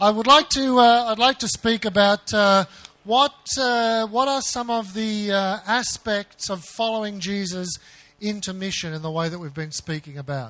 I'd like to speak about what are some of the aspects of following Jesus into mission in the way that we've been speaking about.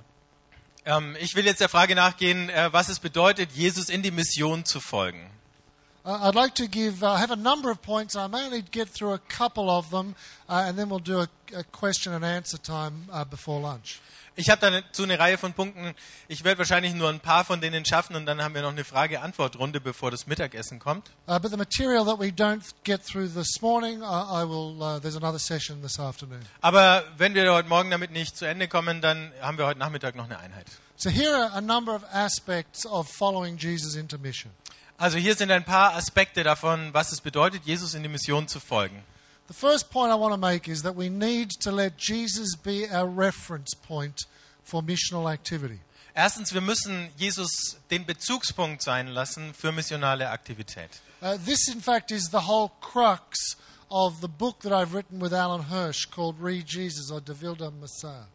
Ich will jetzt der Frage nachgehen, was es bedeutet, Jesus in die Mission zu folgen. I'd like to I have a number of points. I may only get through a couple of them, and then we'll do a question and answer time before lunch. Ich habe dazu eine Reihe von Punkten. Ich werde wahrscheinlich nur ein paar von denen schaffen und dann haben wir noch eine Frage-Antwort-Runde, bevor das Mittagessen kommt. But the material that we don't get through this morning, there's another session this afternoon. Aber wenn wir heute Morgen damit nicht zu Ende kommen, dann haben wir heute Nachmittag noch eine Einheit. So here are a number of aspects of following Jesus into mission. Also hier sind ein paar Aspekte davon, was es bedeutet, Jesus in die Mission zu folgen. The first point I want to make is that we need to let Jesus be our reference point for missional activity. Erstens, wir müssen Jesus den Bezugspunkt sein lassen für missionale Aktivität. This, in fact, is the whole crux of the book that I've written with Alan Hirsch called Read Jesus or De Wilde Messiah.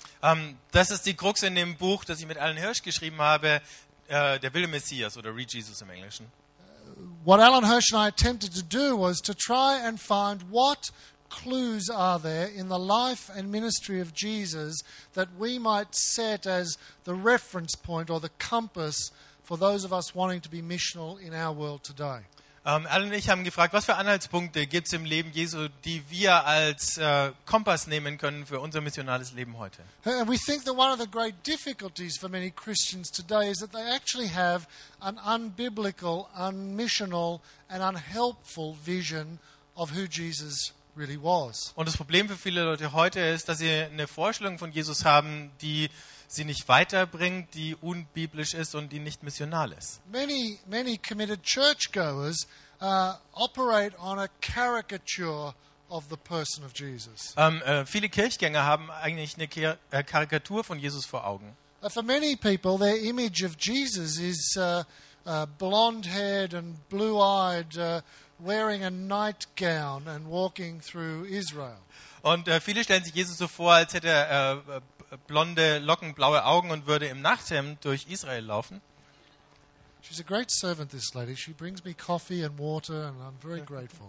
Das ist die Krux in dem Buch, das ich mit Alan Hirsch geschrieben habe, Der wilde Messias oder Read Jesus im Englischen. What Alan Hirsch and I attempted to do was to try and find what clues are there in the life and ministry of Jesus that we might set as the reference point or the compass for those of us wanting to be missional in our world today. Alan und ich haben gefragt, was für Anhaltspunkte gibt es im Leben Jesu, die wir als Kompass nehmen können für unser missionales Leben heute. And we think that one of the great difficulties for many Christians today is that they actually have an unbiblical, unmissional and unhelpful vision of who Jesus really was. Und das Problem für viele Leute heute ist, dass sie eine Vorstellung von Jesus haben, die sie nicht weiterbringt, die unbiblisch ist und die nicht missional ist. Many committed churchgoers operate on a caricature of the person of Jesus. Viele Kirchgänger haben eigentlich eine Karikatur von Jesus vor Augen. For many people, their image of Jesus is blonde-haired and blue-eyed, wearing a nightgown and walking through Israel. Und viele stellen sich Jesus so vor, als hätte er blonde Locken, blaue Augen und würde im Nachthemd durch Israel laufen. She's a great servant, this lady. She brings me coffee and water, and I'm very grateful.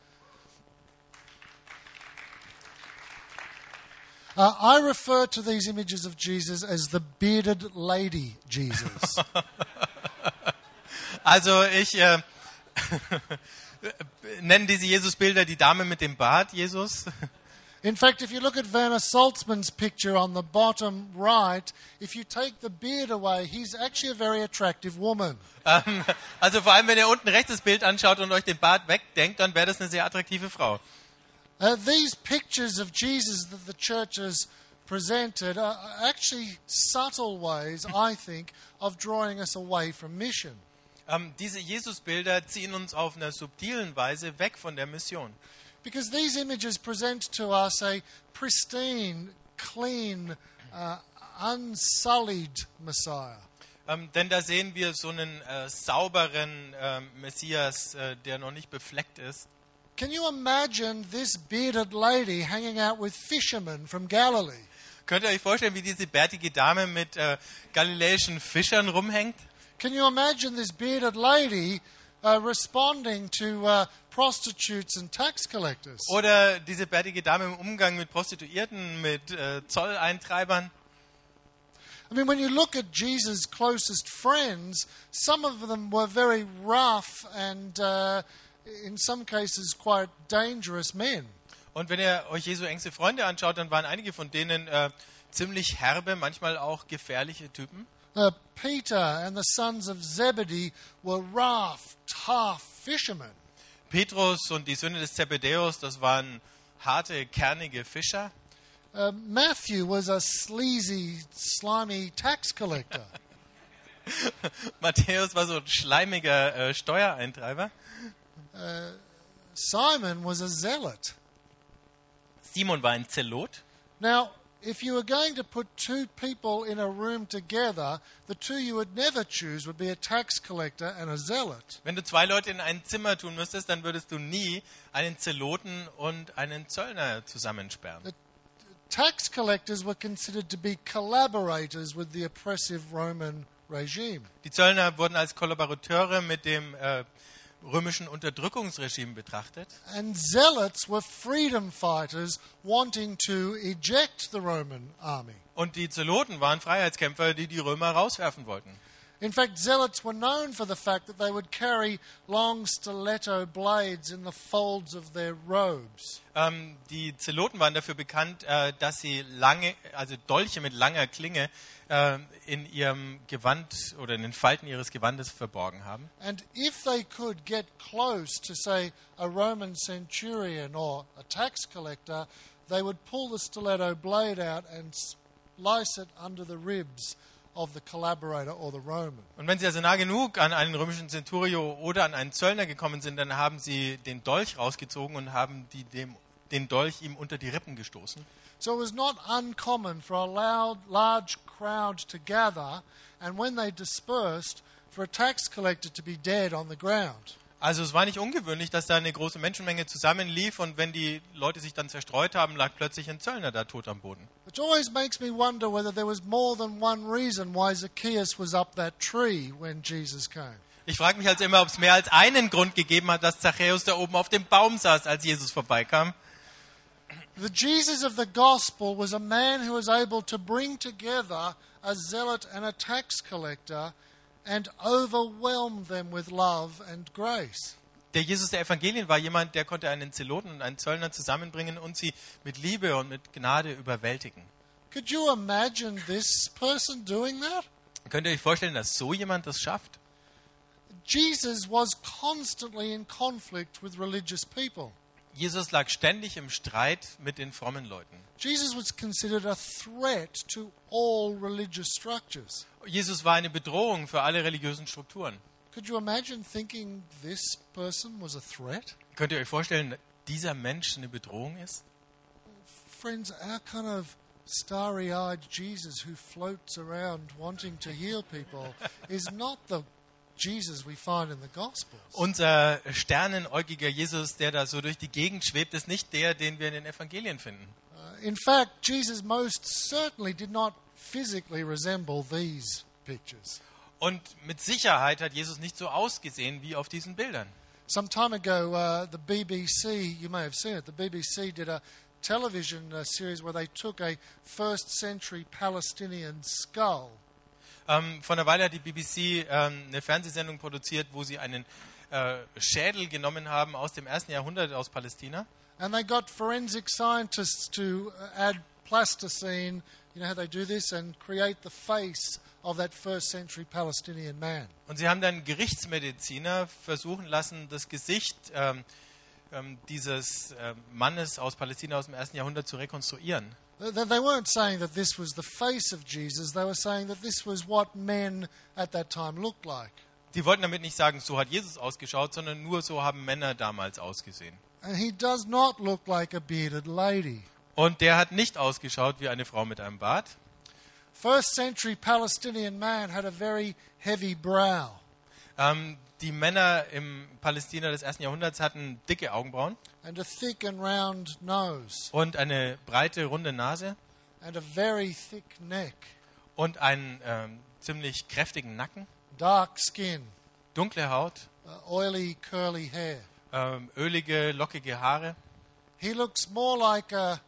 I refer to these images of Jesus as the bearded lady Jesus. Also ich nenne diese Jesusbilder die Dame mit dem Bart Jesus. In fact, if you look at Werner Salzman's picture on the bottom right, if you take the beard away, he's actually a very attractive woman. Also vor allem, wenn ihr unten rechts das Bild anschaut und euch den Bart wegdenkt, dann wäre das eine sehr attraktive Frau. These pictures of Jesus that the church has presented are actually subtle ways, I think, of drawing us away from mission. Diese Jesusbilder ziehen uns auf einer subtilen Weise weg von der Mission. Because these images present to us a pristine, clean, unsullied Messiah. Denn da sehen wir so einen sauberen Messias, der noch nicht befleckt ist. Can you imagine this bearded lady hanging out with fishermen from Galilee? Könnt ihr euch vorstellen, wie diese bärtige Dame mit galiläischen Fischern rumhängt? Can you imagine this bearded lady responding to prostitutes and tax collectors? Oder diese bärtige Dame im Umgang mit Prostituierten, mit Zolleintreibern? I mean, when you look at Jesus' closest friends, some of them were very rough and, in some cases, quite dangerous men. Und wenn ihr euch Jesu engste Freunde anschaut, dann waren einige von denen ziemlich herbe, manchmal auch gefährliche Typen. Peter and the sons of Zebedee were rough, tough fishermen. Petrus und die Söhne des Zebedäus, das waren harte, kernige Fischer. Matthew was a sleazy, slimy tax collector. Matthäus war so ein schleimiger Steuereintreiber. Simon was a zealot. Simon war ein Zelot. Now, if you were going to put two people in a room together, the two you would never choose would be a tax collector and a zealot. Wenn du zwei Leute in ein Zimmer tun müsstest, dann würdest du nie einen Zeloten und einen Zöllner zusammensperren. The tax collectors were considered to be collaborators with the oppressive Roman regime. Die Zöllner wurden als Kollaborateure mit dem römischen Unterdrückungsregime betrachtet. And zealots were freedom fighters wanting to eject the Roman army. Und die Zeloten waren Freiheitskämpfer, die die Römer rauswerfen wollten. In fact, zealots were known for the fact that they would carry long stiletto blades in the folds of their robes. Die Zeloten waren dafür bekannt, dass sie Dolche mit langer Klinge in ihrem Gewand oder in den Falten ihres Gewandes verborgen haben. And if they could get close to, say, a Roman centurion or a tax collector, they would pull the stiletto blade out and slice it under the ribs of the collaborator or the Roman. Und wenn sie also nah genug an einen römischen Centurio oder an einen Zöllner gekommen sind, dann haben sie den Dolch rausgezogen und haben den Dolch ihm unter die Rippen gestoßen. So it was not uncommon for a large crowd to gather, and when they dispersed, for a tax collector to be dead on the ground. Also es war nicht ungewöhnlich, dass da eine große Menschenmenge zusammenlief und wenn die Leute sich dann zerstreut haben, lag plötzlich ein Zöllner da tot am Boden. Which always makes me wonder whether there was more than one reason why Zacchaeus was up that tree when Jesus came. Ich frage mich also immer, ob es mehr als einen Grund gegeben hat, dass Zachäus da oben auf dem Baum saß, als Jesus vorbeikam. The Jesus of the gospel was a man who was able to bring together a zealot and a tax collector and overwhelm them with love and grace. Der Jesus der Evangelien war jemand, der konnte einen Zeloten und einen Zöllner zusammenbringen und sie mit Liebe und mit Gnade überwältigen. Could you imagine this person doing that? Könnt ihr euch vorstellen, dass so jemand das schafft? Jesus was constantly in conflict with religious people. Jesus lag ständig im Streit mit den frommen Leuten. Jesus was considered a threat to all religious structures. Jesus war eine Bedrohung für alle religiösen Strukturen. Could you imagine thinking this person was a threat? Könnt ihr euch vorstellen, dass dieser Mensch eine Bedrohung ist? Friends, our kind of starry-eyed Jesus who floats around wanting to heal people is not the Jesus we find in the Gospels. Unser sternenäugiger Jesus, der da so durch die Gegend schwebt, ist nicht der, den wir in den Evangelien finden. In fact, Jesus most certainly did not physically resemble these pictures. Und mit Sicherheit hat Jesus nicht so ausgesehen wie auf diesen Bildern. Some time ago, the BBC, you may have seen it, the BBC did a television series where they took a first century Palestinian skull. Vor einer Weile hat die BBC eine Fernsehsendung produziert, wo sie einen Schädel genommen haben aus dem 1. Jahrhundert aus Palästina. And they got forensic scientists to add plasticine, you know how they do this, and create the face of that first century Palestinian man. Und sie haben dann Gerichtsmediziner versuchen lassen, das Gesicht dieses Mannes aus Palästina aus dem 1. Jahrhundert zu rekonstruieren. They weren't saying that this was the face of Jesus, they were saying that this was what men at that time looked like. Die wollten damit nicht sagen, so hat Jesus ausgeschaut, sondern nur so haben Männer damals ausgesehen. And he does not look like a bearded lady. Und der hat nicht ausgeschaut wie eine Frau mit einem Bart. First century Palestinian man had a very heavy brow. Die Männer im Palästina des 1. Jahrhunderts hatten dicke Augenbrauen. And a thick and round nose. Und eine breite, runde Nase. And a very thick neck. Und einen ziemlich kräftigen Nacken. Dark skin. Dunkle Haut. Oily, curly hair. Ölige, lockige Haare. He looks more like a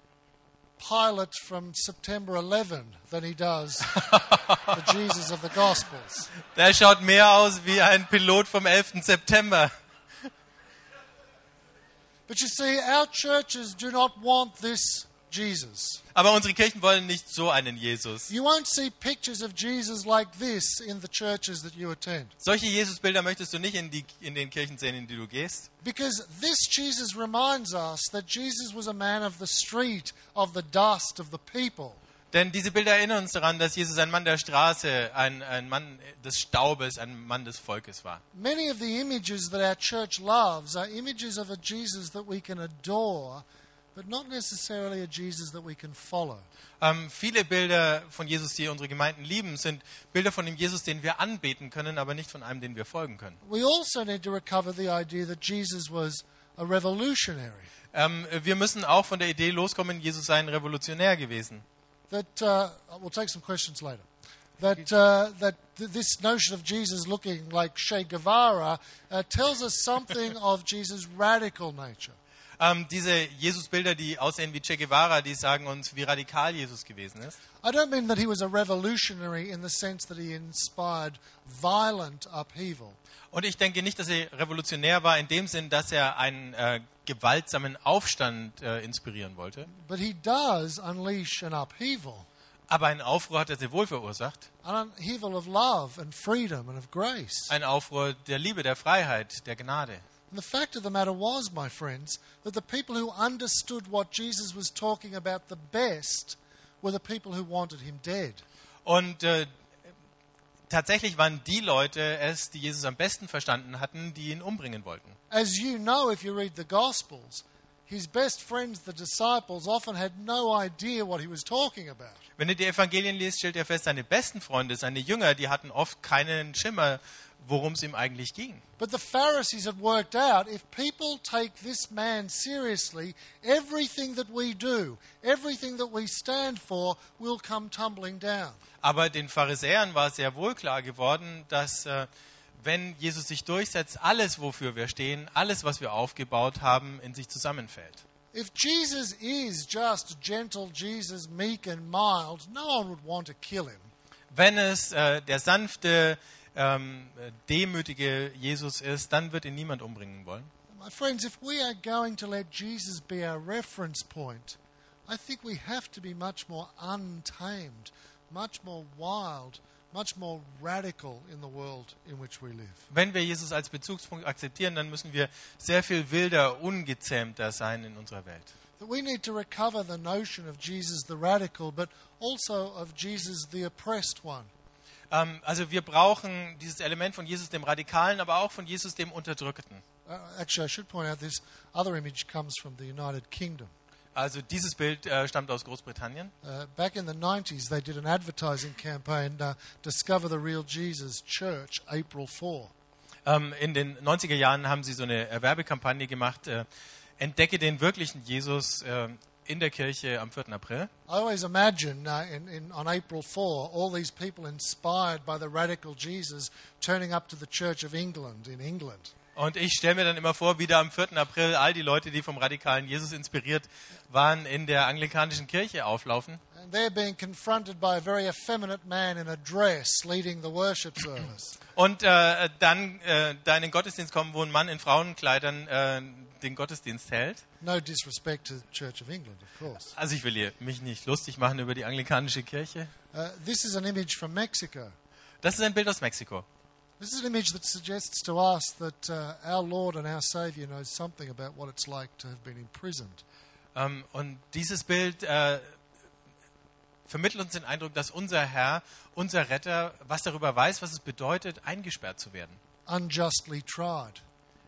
pilot from September 11 than he does the Jesus of the Gospels. Der schaut mehr aus wie ein Pilot vom 11. September. But you see, our churches do not want this Jesus. Aber unsere Kirchen wollen nicht so einen Jesus. You won't see pictures of Jesus like this in the churches that you attend. Solche Jesusbilder möchtest du nicht in den Kirchen sehen, in die du gehst. Because this Jesus reminds us that Jesus was a man of the street, of the dust of the people. Denn diese Bilder erinnern uns daran, dass Jesus ein Mann der Straße, ein Mann des Staubes, ein Mann des Volkes war. Many of the images that our church loves are images of a Jesus that we can adore, but not necessarily a Jesus that we can follow. Viele Bilder von Jesus, die unsere Gemeinden lieben, sind Bilder von dem Jesus, den wir anbeten können, aber nicht von einem, den wir folgen können. We also need to recover the idea that Jesus was a revolutionary. Wir müssen auch von der Idee loskommen, Jesus sei ein Revolutionär gewesen. We'll take some questions later. this notion of Jesus looking like Che Guevara tells us something of Jesus' radical nature. Diese Jesus-Bilder, die aussehen wie Che Guevara, die sagen uns, wie radikal Jesus gewesen ist. I don't mean that he was a revolutionary in the sense that he inspired violent upheaval. Und ich denke nicht, dass er revolutionär war in dem Sinn, dass er einen gewaltsamen Aufstand inspirieren wollte. But he does unleash an upheaval. Aber einen Aufruhr hat er sehr wohl verursacht. An upheaval of love and freedom and of grace. Ein Aufruhr der Liebe, der Freiheit, der Gnade. And the fact of the matter was, my friends, that the people who understood what Jesus was talking about the best were the people who wanted him dead. Und tatsächlich waren die Leute es, die Jesus am besten verstanden hatten, die ihn umbringen wollten. As you know, if you read the Gospels, his best friends, the disciples, often had no idea what he was talking about. Wenn ihr die Evangelien liest, stellt ihr fest, seine besten Freunde, seine Jünger, die hatten oft keinen Schimmer, worum es ihm eigentlich ging. But the Pharisees had worked out, if people take this man seriously, everything that we do, everything that we stand for, will come tumbling down. Aber den Pharisäern war sehr wohl klar geworden, dass wenn Jesus sich durchsetzt, alles, wofür wir stehen, alles, was wir aufgebaut haben, in sich zusammenfällt. If Jesus is just gentle Jesus, meek and mild, no one would want to kill him. Wenn es der sanfte, demütige Jesus ist, dann wird ihn niemand umbringen wollen. My friends, if we are going to let Jesus be our reference point, I think we have to be much more untamed, much more wild, much more radical in the world in which we live. Wenn wir Jesus als Bezugspunkt akzeptieren, dann müssen wir sehr viel wilder, ungezähmter sein in unserer Welt. That we need to recover the notion of Jesus the radical, but also of Jesus the oppressed one. Also wir brauchen dieses Element von Jesus dem Radikalen, aber auch von Jesus dem Unterdrückten. Actually, I should point out this other image comes from the United Kingdom. Also dieses Bild stammt aus Großbritannien. Back in the 90s, they did an advertising campaign, Discover the Real Jesus Church, April 4. In den 90er Jahren haben sie so eine Werbekampagne gemacht, Entdecke den wirklichen Jesus in der Kirche am 4. April. I always imagine on April 4, all these people inspired by the radical Jesus turning up to the Church of England in England. Und ich stelle mir dann immer vor, wie da am 4. April all die Leute, die vom radikalen Jesus inspiriert waren, in der anglikanischen Kirche auflaufen. And they're being confronted by a very effeminate man in a dress leading the worship service. Und dann da in den Gottesdienst kommen, wo ein Mann in Frauenkleidern den Gottesdienst hält. No disrespect to the Church of England, of course. Also ich will hier mich nicht lustig machen über die anglikanische Kirche. This is an image from Mexico. Das ist ein Bild aus Mexiko. This is an image that suggests to us that our Lord and our Savior knows something about what it's like to have been imprisoned. Und dieses Bild vermittelt uns den Eindruck, dass unser Herr, unser Retter, was darüber weiß, was es bedeutet, eingesperrt zu werden. Unjustly tried.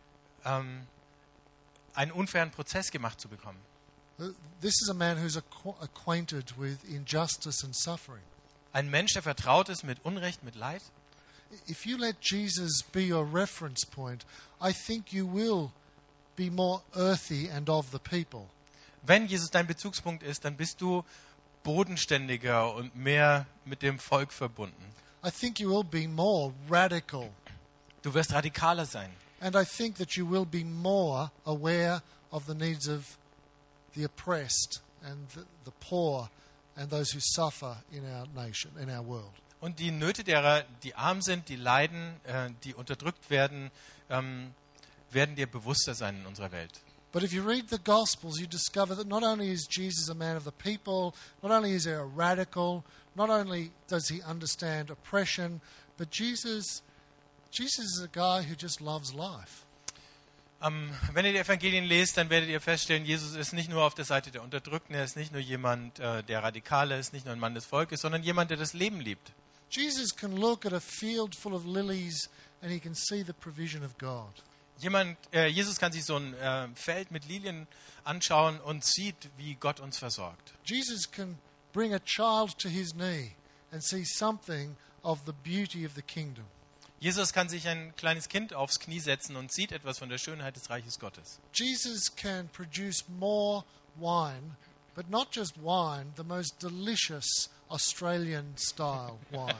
Einen unfairen Prozess gemacht zu bekommen. This is a man who's acquainted with injustice and suffering. Ein Mensch, der vertraut ist mit Unrecht, mit Leid. If you let Jesus be your reference point, I think you will be more earthy and of the people. Wenn Jesus dein Bezugspunkt ist, dann bist du bodenständiger und mehr mit dem Volk verbunden. I think you will be more radical. Du wirst radikaler sein. And I think that you will be more aware of the needs of the oppressed and the poor and those who suffer in our nation, in our world. Und die Nöte derer, die arm sind, die leiden, die unterdrückt werden, werden dir bewusster sein in unserer Welt. But if you read the Gospels, you discover that not only is Jesus a man of the people, not only is he a radical, not only does he understand oppression, but Jesus is a guy who just loves life. Wenn ihr die Evangelien lest, dann werdet ihr feststellen, Jesus ist nicht nur auf der Seite der Unterdrückten, er ist nicht nur jemand, der radikal ist, nicht nur ein Mann des Volkes, sondern jemand, der das Leben liebt. Jesus can look at a field full of lilies and he can see the provision of God. Jesus kann sich so ein Feld mit Lilien anschauen und sieht, wie Gott uns versorgt. Jesus can bring a child to his knee and see something of the beauty of the kingdom. Jesus kann sich ein kleines Kind aufs Knie setzen und sieht etwas von der Schönheit des Reiches Gottes. Jesus can produce more wine, but not just wine, the most delicious Australian style wine.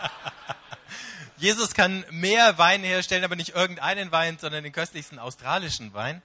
Jesus kann mehr Wein herstellen, aber nicht irgendeinen Wein, sondern den köstlichsten australischen Wein.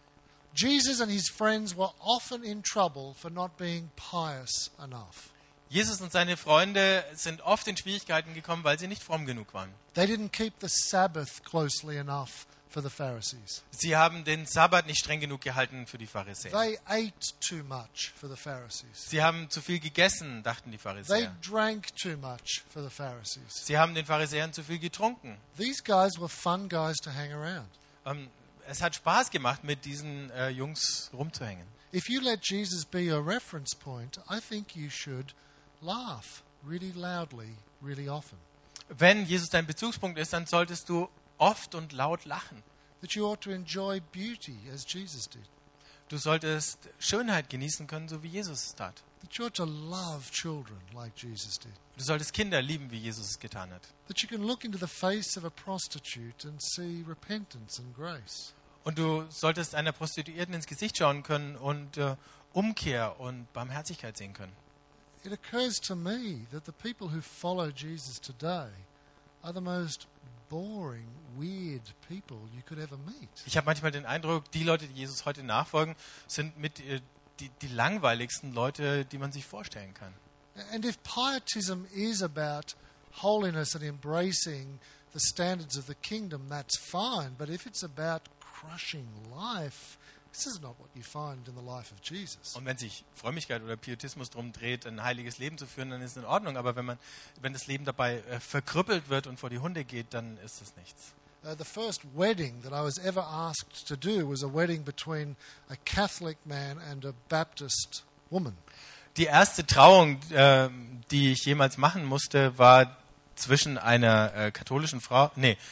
Jesus and his friends were often in trouble for not being pious enough. Jesus und seine Freunde sind oft in Schwierigkeiten gekommen, weil sie nicht fromm genug waren. They didn't keep the Sabbath closely enough for the Pharisees. Sie haben den Sabbat nicht streng genug gehalten für die Pharisäer. They ate too much for the Pharisees. Sie haben zu viel gegessen, dachten die They Pharisäer. drank too much for the Pharisees. Sie haben den Pharisäern zu viel getrunken. These guys were fun guys to hang around. Es hat Spaß gemacht, mit diesen Jungs rumzuhängen. If you let Jesus be your reference point, I think you should laugh really loudly, really often. Wenn Jesus dein Bezugspunkt ist, dann solltest du oft und laut lachen. That you ought to enjoy beauty as Jesus did. Du solltest Schönheit genießen können, so wie Jesus es tat. That you ought to love children like Jesus did. Du solltest Kinder lieben, wie Jesus es getan hat. That you can look into the face of a prostitute and see repentance and grace. Und du solltest einer Prostituierten ins Gesicht schauen können und Umkehr und Barmherzigkeit sehen können. It occurs to me that the people who follow Jesus today are the most boring, weird people you could ever meet. Ich habe manchmal den Eindruck, die Leute, die Jesus heute nachfolgen, sind mit die langweiligsten Leute, die man sich vorstellen kann. And if pietism is about holiness and embracing the standards of the kingdom, that's fine. But if it's about crushing life, this is not what you find in the life of Jesus. Und wenn sich Frömmigkeit oder Pietismus darum dreht, ein heiliges Leben zu führen, dann ist es in Ordnung. Aber wenn das Leben dabei verkrüppelt wird und vor die Hunde geht, dann ist es nichts. The first wedding that I was ever asked to do was a wedding between a Catholic man and a Baptist woman. Die erste Trauung, die ich jemals machen musste, war zwischen einer katholischen Frau,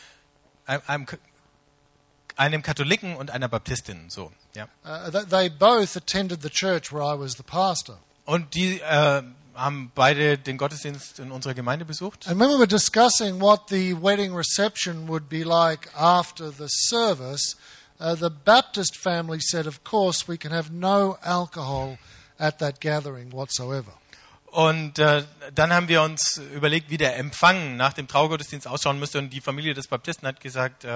einem Katholiken und einer Baptistin. So, ja. They both attended the church where I was the pastor. Und die haben beide den Gottesdienst in unserer Gemeinde besucht. And when we were discussing what the wedding reception would be like after the service, the Baptist family said, of course, we can have no alcohol at that gathering whatsoever. Und dann haben wir uns überlegt, wie der Empfang nach dem Traugottesdienst ausschauen müsste. Und die Familie des Baptisten hat gesagt,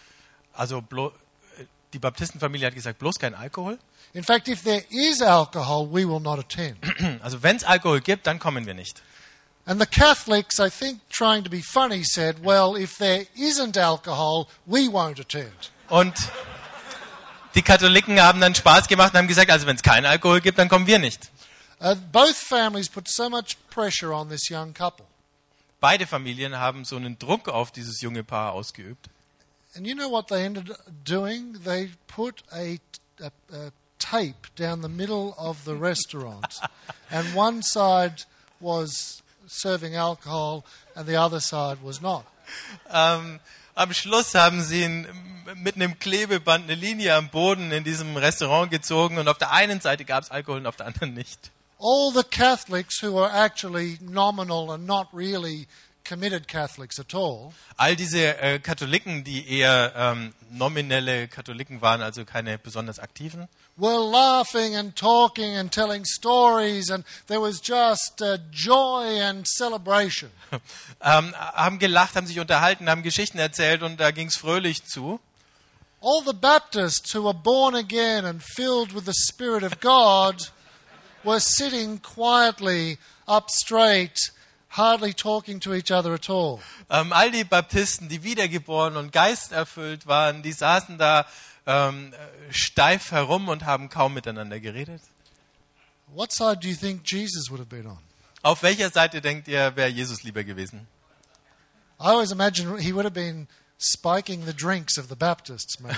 die Baptistenfamilie hat gesagt, bloß kein Alkohol. In fact, if there is alcohol, we will not attend. Also wenn es Alkohol gibt, dann kommen wir nicht. And the Catholics, I think, trying to be funny, said, well, if there isn't alcohol, we won't attend. Und die Katholiken haben dann Spaß gemacht und haben gesagt, also wenn es keinen Alkohol gibt, dann kommen wir nicht. Both families put so much pressure on this young couple. Beide Familien haben so einen Druck auf dieses junge Paar ausgeübt. And you know what they ended up doing? They put a tape down the middle of the restaurant. And one side was serving alcohol and the other side was not. Am Schluss haben sie mit einem Klebeband eine Linie am Boden in diesem Restaurant gezogen und auf der einen Seite gab es Alkohol und auf der anderen nicht. All the Catholics who were actually nominal and not really committed Catholics at all. All diese Katholiken, die eher nominelle Katholiken waren, also keine besonders aktiven, Were laughing and talking and telling stories, and there was just joy and celebration. haben gelacht, haben sich unterhalten, haben Geschichten erzählt und da ging es fröhlich zu. All the Baptists who were born again and filled with the Spirit of God were sitting quietly, up straight, hardly talking to each other at all. All die Baptisten, die wiedergeboren und geisterfüllt waren, die saßen da steif herum und haben kaum miteinander geredet. What side do you think Jesus would have been on? Auf welcher Seite denkt ihr, wäre Jesus lieber gewesen? I always imagine he would have been spiking the drinks of the Baptists, maybe.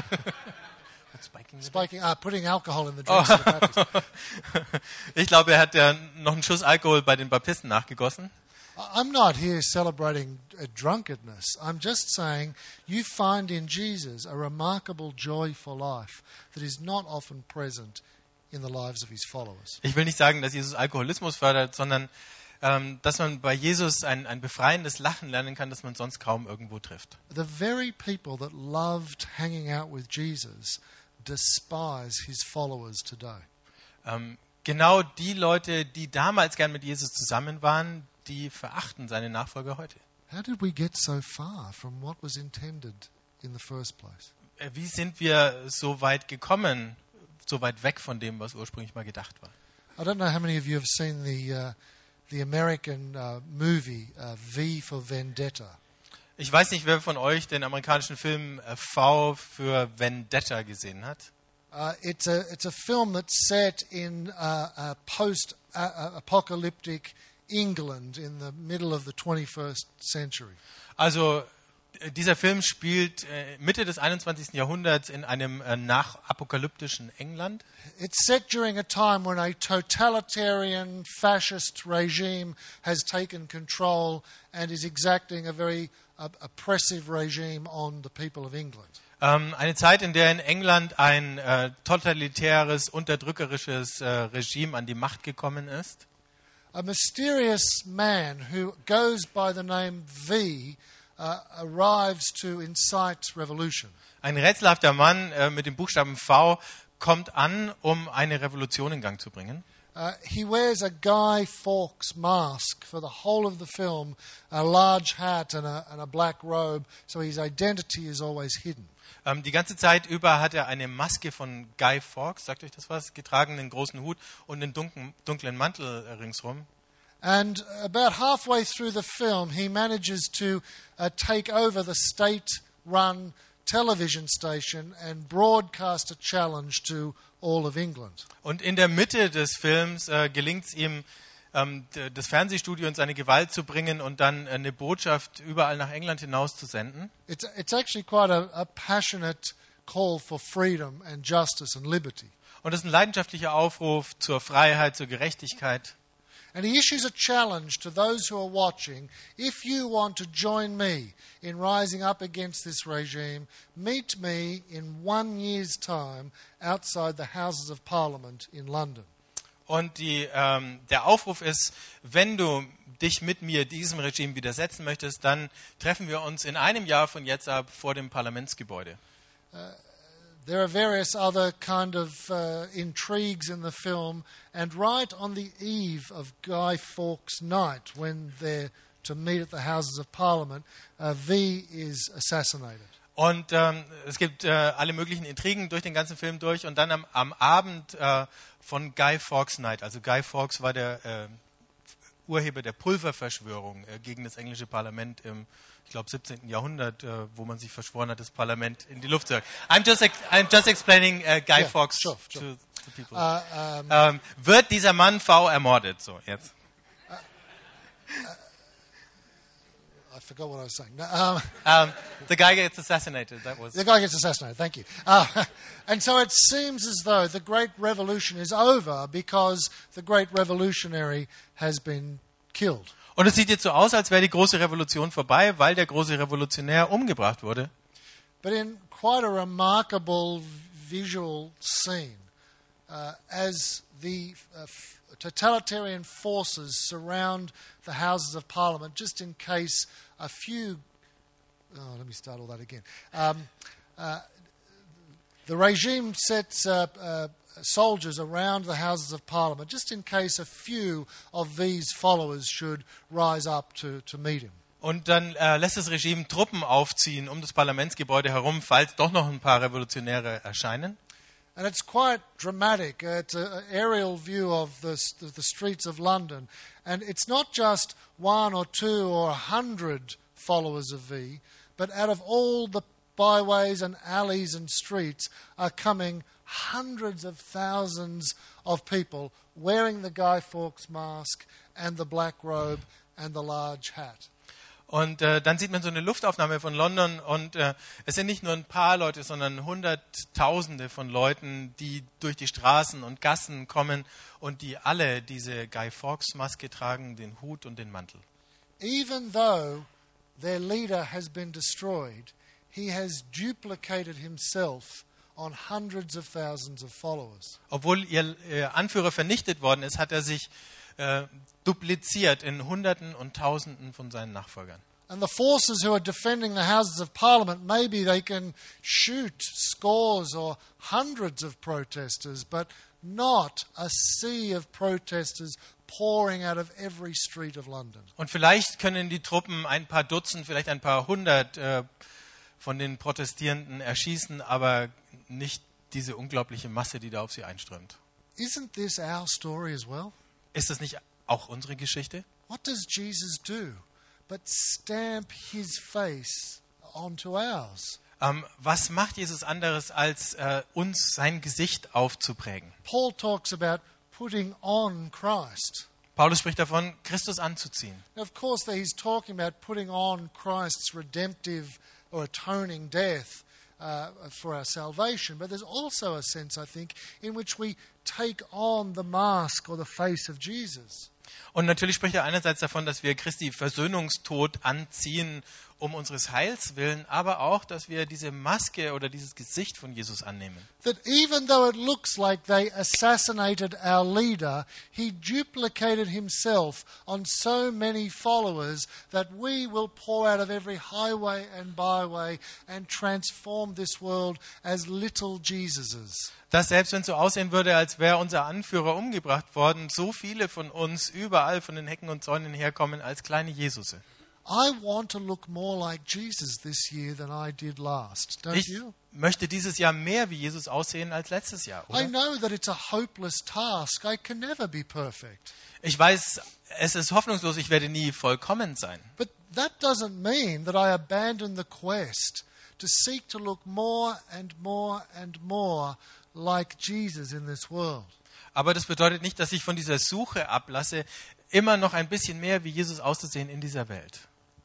Putting alcohol in the drinks of the Baptists. Ich glaube, er hat ja noch einen Schuss Alkohol bei den Baptisten nachgegossen. I'm not here celebrating drunkenness. I'm just saying you find in Jesus a remarkable joy for life that is not often present in the lives of his followers. Ich will nicht sagen, dass Jesus Alkoholismus fördert, sondern dass man bei Jesus ein befreiendes Lachen lernen kann, das man sonst kaum irgendwo trifft. The very people that loved hanging out with Jesus despise his followers today. genau die Leute, die damals gern mit Jesus zusammen waren, die verachten seine Nachfolger heute. How did we get so far from what was intended in the first place? Wie sind wir so weit gekommen, so weit weg von dem, was ursprünglich mal gedacht war? I don't know how many of you have seen the American movie V for Vendetta. Ich weiß nicht, wer von euch den amerikanischen Film V für Vendetta gesehen hat. It's a film that's set in post-apocalyptic England in the middle of the 21st century. Also dieser Film spielt Mitte des 21. Jahrhunderts in einem nachapokalyptischen England. It's set during a time when a totalitarian fascist regime has taken control and is exacting a very oppressive regime on the people of England. Eine Zeit, in der in England ein totalitäres, unterdrückerisches Regime an die Macht gekommen ist. A mysterious man who goes by the name V arrives to incite revolution. Ein rätselhafter Mann mit dem Buchstaben V kommt an, um eine Revolution in Gang zu bringen. He wears a Guy Fawkes mask for the whole of the film, a large hat and a black robe, so his identity is always hidden. Die ganze Zeit über hat er eine Maske von Guy Fawkes, sagt euch das was, getragen, einen großen Hut und einen dunklen Mantel ringsrum. And about halfway through the film, he manages to take over the state-run television station and broadcast a challenge to all of England. Und in der Mitte des Films gelingt es ihm, das Fernsehstudio in seine Gewalt zu bringen und dann eine Botschaft überall nach England hinaus zu senden. It's actually quite a passionate call for freedom and justice and liberty. Und es ist ein leidenschaftlicher Aufruf zur Freiheit, zur Gerechtigkeit. And he issues a challenge to those who are watching. If you want to join me in rising up against this regime, meet me in 1 year's time outside the Houses of Parliament in London. Und der Aufruf ist, wenn du dich mit mir diesem Regime widersetzen möchtest, dann treffen wir uns in einem Jahr von jetzt ab vor dem Parlamentsgebäude. There are various other kind of intrigues in the film, and right on the eve of Guy Fawkes' night, when they're to meet at the Houses of Parliament, V is assassinated. Und es gibt alle möglichen Intrigen durch den ganzen Film durch. Und dann am Abend von Guy Fawkes Night, also Guy Fawkes war der Urheber der Pulververschwörung gegen das englische Parlament im, ich glaube, 17. Jahrhundert, wo man sich verschworen hat, das Parlament in die Luft zu jagen. I'm just explaining Guy Fawkes sure. To people. Wird dieser Mann V ermordet? So, jetzt. I forgot what I was saying. The guy gets assassinated. The guy gets assassinated, thank you. And so it seems as though the Great Revolution is over because the Great Revolutionary has been killed. Und es sieht jetzt so aus, als wäre die große Revolution vorbei, weil der große Revolutionär umgebracht wurde. But in quite a remarkable visual scene, as the totalitarian forces surround the Houses of Parliament, just in case a few... let me start all that again. The regime sets soldiers around the Houses of Parliament, just in case a few of these followers should rise up to meet him. Und dann lässt das Regime Truppen aufziehen um das Parlamentsgebäude herum, falls doch noch ein paar Revolutionäre erscheinen. And it's quite dramatic. It's an aerial view of the streets of London. And it's not just 1 or 2 or 100 followers of V, but out of all the byways and alleys and streets are coming hundreds of thousands of people wearing the Guy Fawkes mask and the black robe and the large hat. Und dann sieht man so eine Luftaufnahme von London und es sind nicht nur ein paar Leute, sondern Hunderttausende von Leuten, die durch die Straßen und Gassen kommen und die alle diese Guy Fawkes Maske tragen, den Hut und den Mantel. Even though their leader has been destroyed, he has duplicated himself on hundreds of thousands of followers. Obwohl ihr Anführer vernichtet worden ist, hat er sich dupliziert in Hunderten und Tausenden von seinen Nachfolgern. And the forces who are defending the Houses of Parliament, maybe they can shoot scores or hundreds of protesters, but not a sea of protesters pouring out of every street of London. Und vielleicht können die Truppen ein paar Dutzend, vielleicht ein paar hundert von den Protestierenden erschießen, aber nicht diese unglaubliche Masse, die da auf sie einströmt. Isn't this our story as well? Ist das nicht auch unsere Geschichte? What does Jesus do but stamp his face onto ours? Was macht Jesus anderes, als uns sein Gesicht aufzuprägen? Paul talks about putting on Christ. Paulus spricht davon, Christus anzuziehen. Now, of course, there he's talking about putting on Christ's redemptive or atoning death for our salvation. But there's also a sense, I think, in which we take on the mask or the face of Jesus. Und natürlich spricht er einerseits davon, dass wir Christi Versöhnungstod anziehen, um unseres Heils willen, aber auch, dass wir diese Maske oder dieses Gesicht von Jesus annehmen. That even though it looks like they assassinated our leader, he duplicated himself on so many followers that we will pour out of every highway and byway and transform this world as little Jesuses. Dass selbst wenn es so aussehen würde, als wäre unser Anführer umgebracht worden, so viele von uns überall von den Hecken und Zäunen herkommen als kleine Jesusse. I want to look more like Jesus this year than I did last, don't Ich you? möchte dieses Jahr mehr wie Jesus aussehen als letztes Jahr, I oder? know that it's a hopeless task. I can never be perfect. Ich weiß, es ist hoffnungslos, ich werde nie vollkommen sein. But that doesn't mean that I abandon the quest to seek to look more and more and more like Jesus in this world. Aber das bedeutet nicht, dass ich von dieser Suche ablasse, immer noch ein bisschen mehr wie Jesus auszusehen in dieser Welt.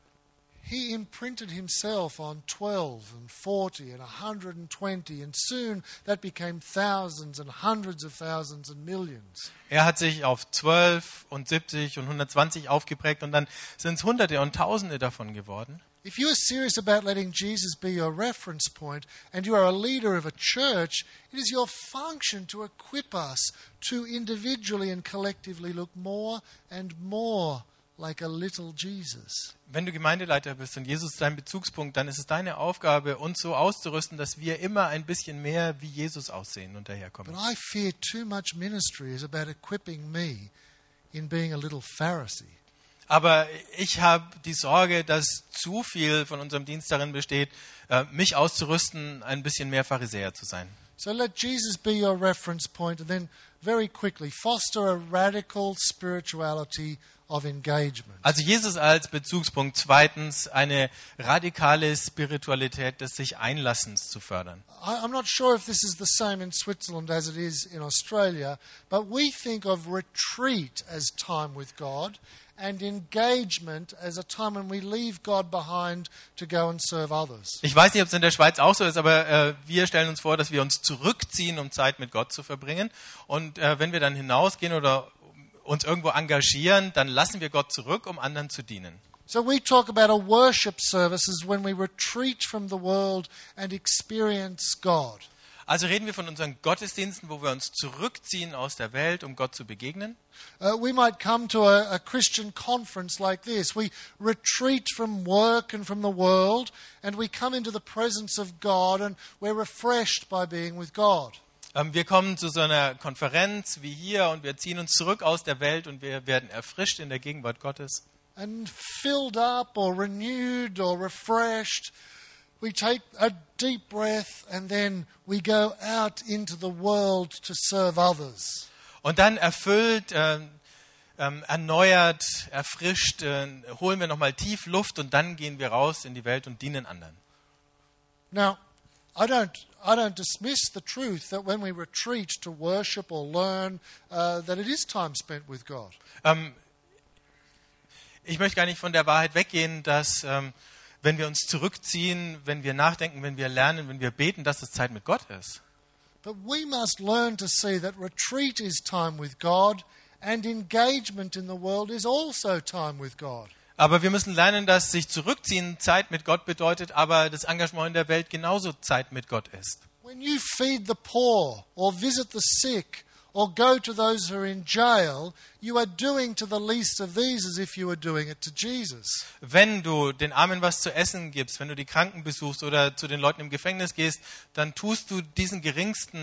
He imprinted himself on 12 and 40 and 120, and soon that became thousands and hundreds of thousands and millions. Er hat sich auf 12 und 70 und 120 aufgeprägt und dann sind es Hunderte und Tausende davon geworden. If you are serious about letting Jesus be your reference point and you are a leader of a church, it is your function to equip us to individually and collectively look more and more like a little Jesus. Wenn du Gemeindeleiter bist und Jesus dein Bezugspunkt, dann ist es deine Aufgabe, uns so auszurüsten, dass wir immer ein bisschen mehr wie Jesus aussehen und But daherkommen. I fear too much ministry is about equipping me in being a little Pharisee. Aber ich habe die Sorge, dass zu viel von unserem Dienst darin besteht, mich auszurüsten, ein bisschen mehr Pharisäer zu sein. So let Jesus be your reference point, and then very quickly foster a radical spirituality of engagement. Also Jesus als Bezugspunkt. Zweitens eine radikale Spiritualität des sich Einlassens zu fördern. I'm not sure if this is the same in Switzerland as it is in Australia, but we think of retreat as time with God and engagement as a time when we leave God behind to go and serve others. Ich weiß nicht, ob es in der Schweiz auch so ist, aber wir stellen uns vor, dass wir uns zurückziehen, um Zeit mit Gott zu verbringen. Und wenn wir dann hinausgehen oder uns irgendwo engagieren, dann lassen wir Gott zurück, um anderen zu dienen. So we talk about a worship service as when we retreat from the world and experience God. Also reden wir von unseren Gottesdiensten, wo wir uns zurückziehen aus der Welt, um Gott zu begegnen. We might come to a Christian conference like this. We retreat from work and from the world, and we come into the presence of God, and we're refreshed by being with God. Wir kommen zu so einer Konferenz wie hier und wir ziehen uns zurück aus der Welt und wir werden erfrischt in der Gegenwart Gottes. And filled up or renewed or refreshed, we take a deep breath and then we go out into the world to serve others. Und dann erfüllt, erneuert, erfrischt, holen wir nochmal tief Luft und dann gehen wir raus in die Welt und dienen anderen. Now, I don't dismiss the truth that when we retreat to worship or learn, that it is time spent with God. Ich möchte gar nicht von der Wahrheit weggehen, dass wenn wir uns zurückziehen, wenn wir nachdenken, wenn wir lernen, wenn wir beten, dass es Zeit mit Gott ist. But we must learn to see that retreat is time with God and engagement in the world is also time with God. Aber wir müssen lernen, dass sich zurückziehen Zeit mit Gott bedeutet, aber das Engagement in der Welt genauso Zeit mit Gott ist. When you feed the poor or visit the sick or go to those who are in jail, you are doing to the least of these as if you were doing it to Jesus. Wenn du den Armen was zu essen gibst, wenn du die Kranken besuchst oder zu den Leuten im Gefängnis gehst, dann tust du diesen geringsten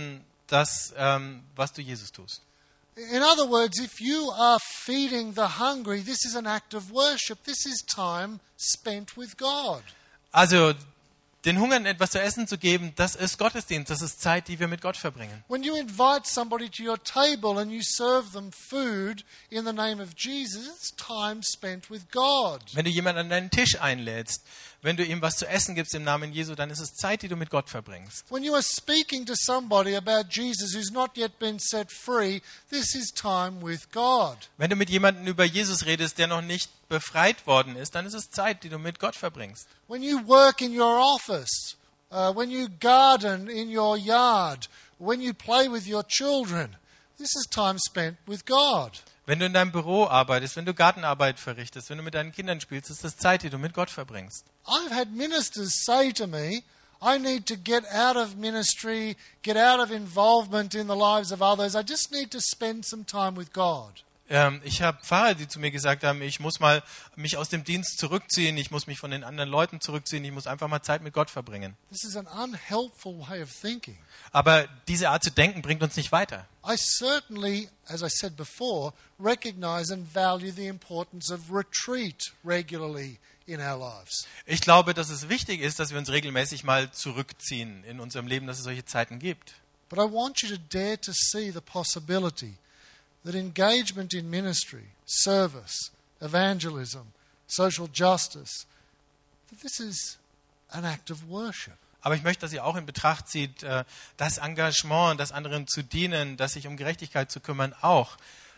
das, was du Jesus tust. In other words, if you are feeding the hungry, this is an act of worship. This is time spent with God. Also den Hungern etwas zu essen zu geben, das ist Gottesdienst, das ist Zeit, die wir mit Gott verbringen. When you invite somebody to your table and you serve them food in the name of Jesus, it's time spent with God. Wenn du jemanden an deinen Tisch einlädst, wenn du ihm was zu essen gibst im Namen Jesu, dann ist es Zeit, die du mit Gott verbringst. When you are speaking to somebody about Jesus who's not yet been set free, this is time with God. Wenn du mit jemandem über Jesus redest, der noch nicht befreit worden ist, dann ist es Zeit, die du mit Gott verbringst. When you work in your office, when you garden in your yard, when you play with your children, this is time spent with God. Wenn du in deinem Büro arbeitest, wenn du Gartenarbeit verrichtest, wenn du mit deinen Kindern spielst, ist das Zeit, die du mit Gott verbringst. I've had ministers say to me, I need to get out of ministry, get out of involvement in the lives of others. I just need to spend some time with God. Ich habe Pfarrer, die zu mir gesagt haben, ich muss mal mich aus dem Dienst zurückziehen, ich muss mich von den anderen Leuten zurückziehen, ich muss einfach mal Zeit mit Gott verbringen. This is an unhelpful way of thinking. Aber diese Art zu denken bringt uns nicht weiter. I certainly, as I said before, recognize and value the importance of retreat regularly in our lives. Ich glaube, dass es wichtig ist, dass wir uns regelmäßig mal zurückziehen in unserem Leben, dass es solche Zeiten gibt. But I want you to dare to see the possibility that engagement in ministry, service, evangelism, social justice, that this is an act of worship. Aber ich möchte, dass ihr auch in Betracht zieht, das Engagement, das anderen zu dienen, das sich um Gerechtigkeit zu kümmern, auch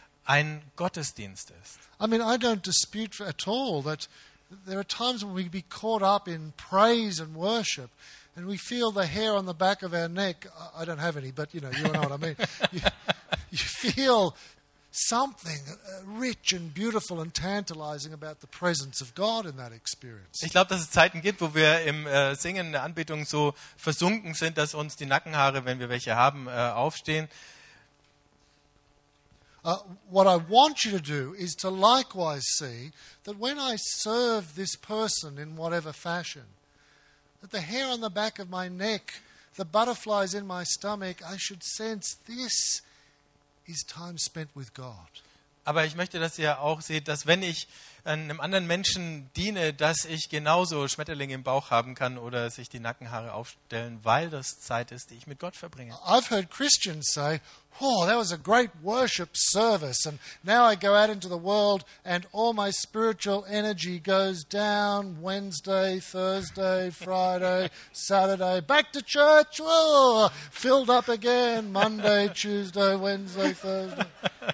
ein Gottesdienst ist. I mean, I don't dispute at all that there are times when we be caught up in praise and worship and we feel the hair on the back of our neck. I don't have any, but you know what I mean. You feel something rich and beautiful and tantalizing about the presence of God in that experience. Ich glaube, dass es Zeiten gibt, wo wir im Singen in der Anbetung so versunken sind, dass uns die Nackenhaare, wenn wir welche haben, aufstehen. What I want you to do is to likewise see that when I serve this person in whatever fashion, that the hair on the back of my neck, the butterflies in my stomach, I should sense this is time spent with God. Aber ich möchte, dass ihr auch seht, dass wenn ich einem anderen Menschen diene, dass ich genauso Schmetterlinge im Bauch haben kann oder sich die Nackenhaare aufstellen, weil das Zeit ist, die ich mit Gott verbringe. I've heard Christians say, oh, that was a great worship service, and now I go out into the world and all my spiritual energy goes down Wednesday, Thursday, Friday, Saturday, back to church, oh, filled up again, Monday, Tuesday, Wednesday, Thursday.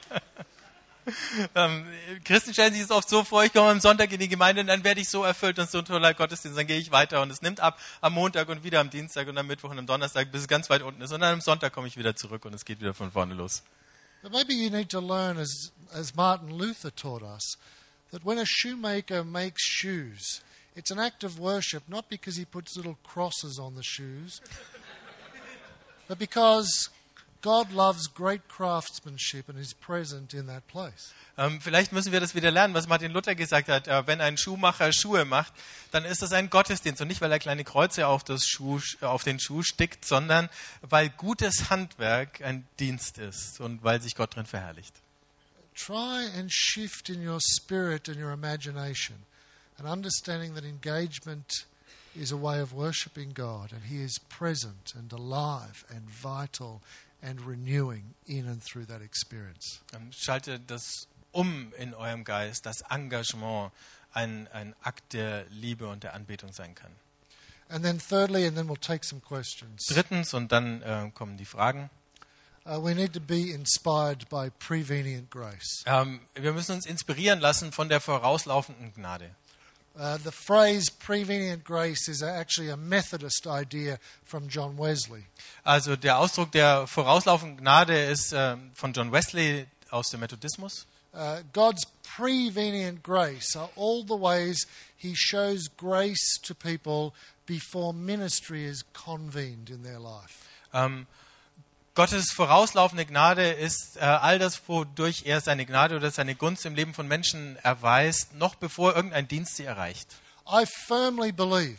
Christen stellen sich es oft so vor, ich komme am Sonntag in die Gemeinde und dann werde ich so erfüllt und so ein toller Gottesdienst, dann gehe ich weiter und es nimmt ab am Montag und wieder am Dienstag und am Mittwoch und am Donnerstag, bis es ganz weit unten ist und dann am Sonntag komme ich wieder zurück und es geht wieder von vorne los. But maybe you need to learn, as Martin Luther taught us, that when a shoemaker makes shoes, it's an act of worship, not because he puts little crosses on the shoes, but because God loves great craftsmanship and is present in that place. Vielleicht müssen wir das wieder lernen, was Martin Luther gesagt hat. Wenn ein Schuhmacher Schuhe macht, dann ist das ein Gottesdienst. Und nicht, weil er kleine Kreuze auf den Schuh stickt, sondern weil gutes Handwerk ein Dienst ist und weil sich Gott drin verherrlicht. Try and shift in your spirit and your imagination and understanding that engagement is a way of worshiping God and He is present and alive and vital and renewing in and through that experience. Schalte das in eurem Geist, dass Engagement ein Akt der Liebe und der Anbetung sein kann. And then thirdly, and then we'll take some questions. Drittens, und dann kommen die Fragen. We need to be inspired by prevenient grace. Wir müssen uns inspirieren lassen von der vorauslaufenden Gnade. The phrase prevenient grace is actually a Methodist idea from John Wesley. Also der Ausdruck der vorauslaufenden Gnade ist von John Wesley aus dem Methodismus. God's prevenient grace are all the ways He shows grace to people before ministry is convened in their life. Gottes vorauslaufende Gnade ist all das, wodurch er seine Gnade oder seine Gunst im Leben von Menschen erweist, noch bevor irgendein Dienst sie erreicht. I firmly believe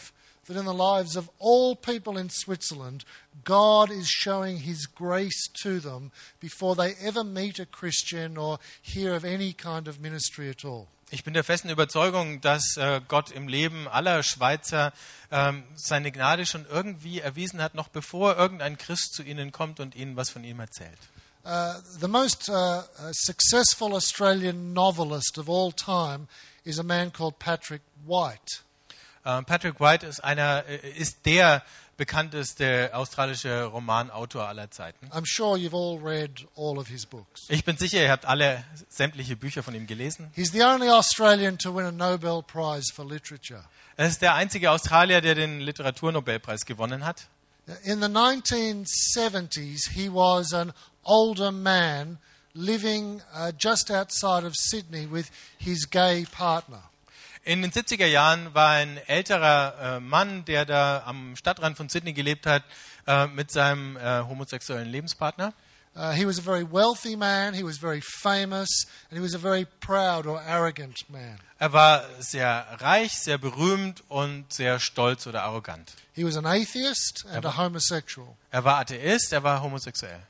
that in the lives of all people in Switzerland, God is showing his grace to them before they ever meet a Christian or hear of any kind of ministry at all. Ich bin der festen Überzeugung, dass Gott im Leben aller Schweizer seine Gnade schon irgendwie erwiesen hat, noch bevor irgendein Christ zu ihnen kommt und ihnen was von ihm erzählt. The most successful Australian novelist of all time is a man called Patrick White. Patrick White ist der bekannteste australische Romanautor aller Zeiten. I'm sure you've all read all of his books. Ich bin sicher, ihr habt alle sämtliche Bücher von ihm gelesen. He's the only Australian to win a Nobel Prize for Literature. Er ist der einzige Australier, der den Literaturnobelpreis gewonnen hat. In the 1970s, he was an older man living just outside of Sydney with his gay partner. In den 70er Jahren war ein älterer Mann, der da am Stadtrand von Sydney gelebt hat, mit seinem homosexuellen Lebenspartner. He was a very wealthy man, he was very famous, and he was a very proud or arrogant man. Er war sehr reich, sehr berühmt und sehr stolz oder arrogant. He was an atheist and a homosexual. Er war Atheist, er war homosexuell.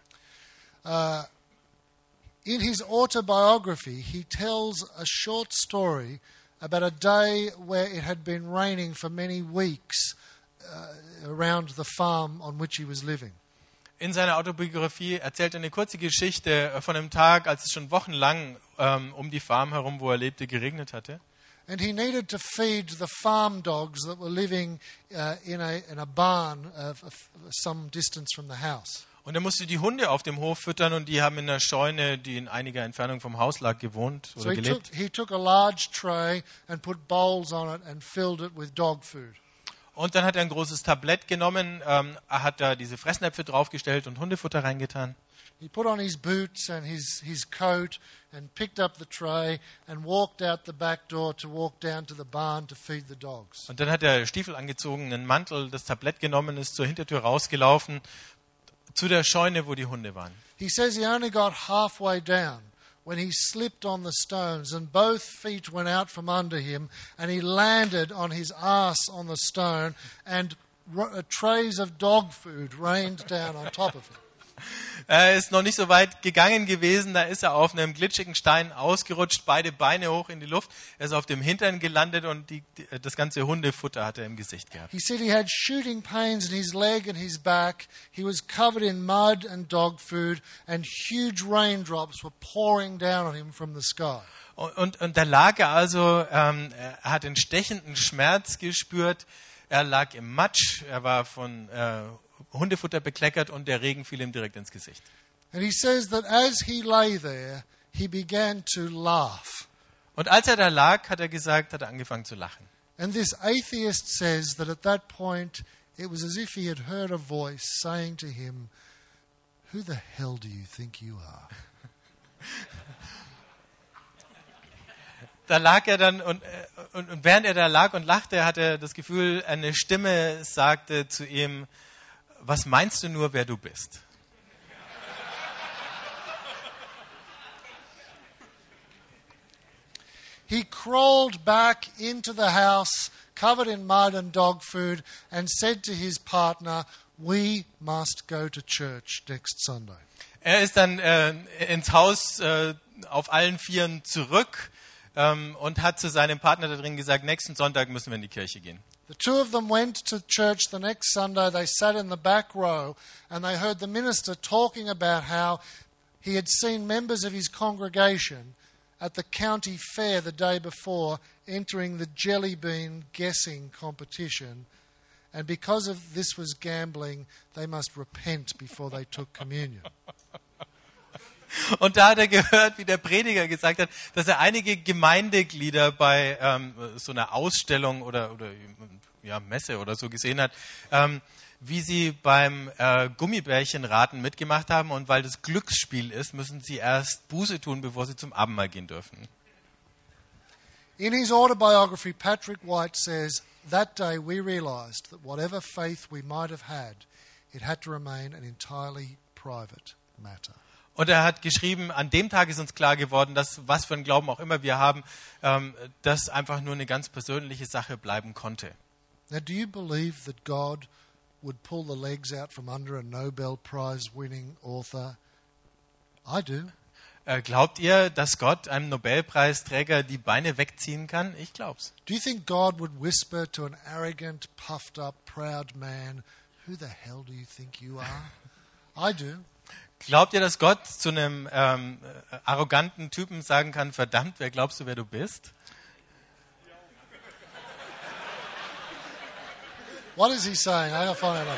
In his autobiography, he tells a short story about a day where it had been raining for many weeks around the farm on which he was living. In seiner Autobiografie erzählt er eine kurze Geschichte von einem Tag, als es schon wochenlang um die Farm herum, wo er lebte, geregnet hatte. And he needed to feed the farm dogs that were living in a barn some distance from the house. Und er musste die Hunde auf dem Hof füttern und die haben in einer Scheune, die in einiger Entfernung vom Haus lag, gewohnt oder gelebt. He took a large tray and put bowls on it and filled it with dog food. Und dann hat er ein großes Tablett genommen, hat da diese Fressnäpfe draufgestellt und Hundefutter reingetan. He put on his boots and his coat and picked up the tray and walked out the back door to walk down to the barn to feed the dogs. Und dann hat er Stiefel angezogen, einen Mantel, das Tablett genommen, ist zur Hintertür rausgelaufen, zu der Scheune, wo die Hunde waren. He says he only got halfway down when he slipped on the stones and both feet went out from under him and he landed on his ass on the stone and trays of dog food rained down on top of him. Er ist noch nicht so weit gegangen gewesen, da ist er auf einem glitschigen Stein ausgerutscht, beide Beine hoch in die Luft. Er ist auf dem Hintern gelandet und das ganze Hundefutter hat er im Gesicht gehabt. He said he had shooting pains in his leg and his back. He was covered in mud and dog food and huge raindrops were pouring down on him from the sky. Und da lag er also, er hat einen stechenden Schmerz gespürt, er lag im Matsch, er war von Hundefutter bekleckert und der Regen fiel ihm direkt ins Gesicht. And he says that as he lay there, he began to laugh. Und als er da lag, hat er angefangen zu lachen. And this atheist says that at that point it was as if he had heard a voice saying to him, "Who the hell do you think you are?" Da lag er dann und während er da lag und lachte, hatte er das Gefühl, eine Stimme sagte zu ihm: Was meinst du nur, wer du bist? He crawled back into the house, covered in mud and dog food, and said to his partner, "We must go to church next Sunday." Er ist dann ins Haus auf allen Vieren zurück und hat zu seinem Partner da drin gesagt, nächsten Sonntag müssen wir in die Kirche gehen. The two of them went to church the next Sunday. They sat in the back row and they heard the minister talking about how he had seen members of his congregation at the county fair the day before entering the jelly bean guessing competition. And because of this was gambling, they must repent before they took communion. Und da hat er gehört, wie der Prediger gesagt hat, dass er einige Gemeindeglieder bei so einer Ausstellung oder Messe oder so gesehen hat, wie sie beim Gummibärchenraten mitgemacht haben. Und weil das Glücksspiel ist, müssen sie erst Buße tun, bevor sie zum Abendmahl gehen dürfen. In his autobiography, Patrick White says, "That day we realized that whatever faith we might have had, it had to remain an entirely private matter." Und er hat geschrieben, an dem Tag ist uns klar geworden, dass was für einen Glauben auch immer wir haben, das einfach nur eine ganz persönliche Sache bleiben konnte. Now, do you believe that God would pull the legs out from under a Nobel Prize winning author? I do. Glaubt ihr, dass Gott einem Nobelpreisträger die Beine wegziehen kann? Ich glaub's. Do you think God would whisper to an arrogant, puffed up, proud man, "Who the hell do you think you are?" I do. Glaubt ihr, dass Gott zu einem arroganten Typen sagen kann, verdammt, wer glaubst du, wer du bist? What is he saying? I gotta find out.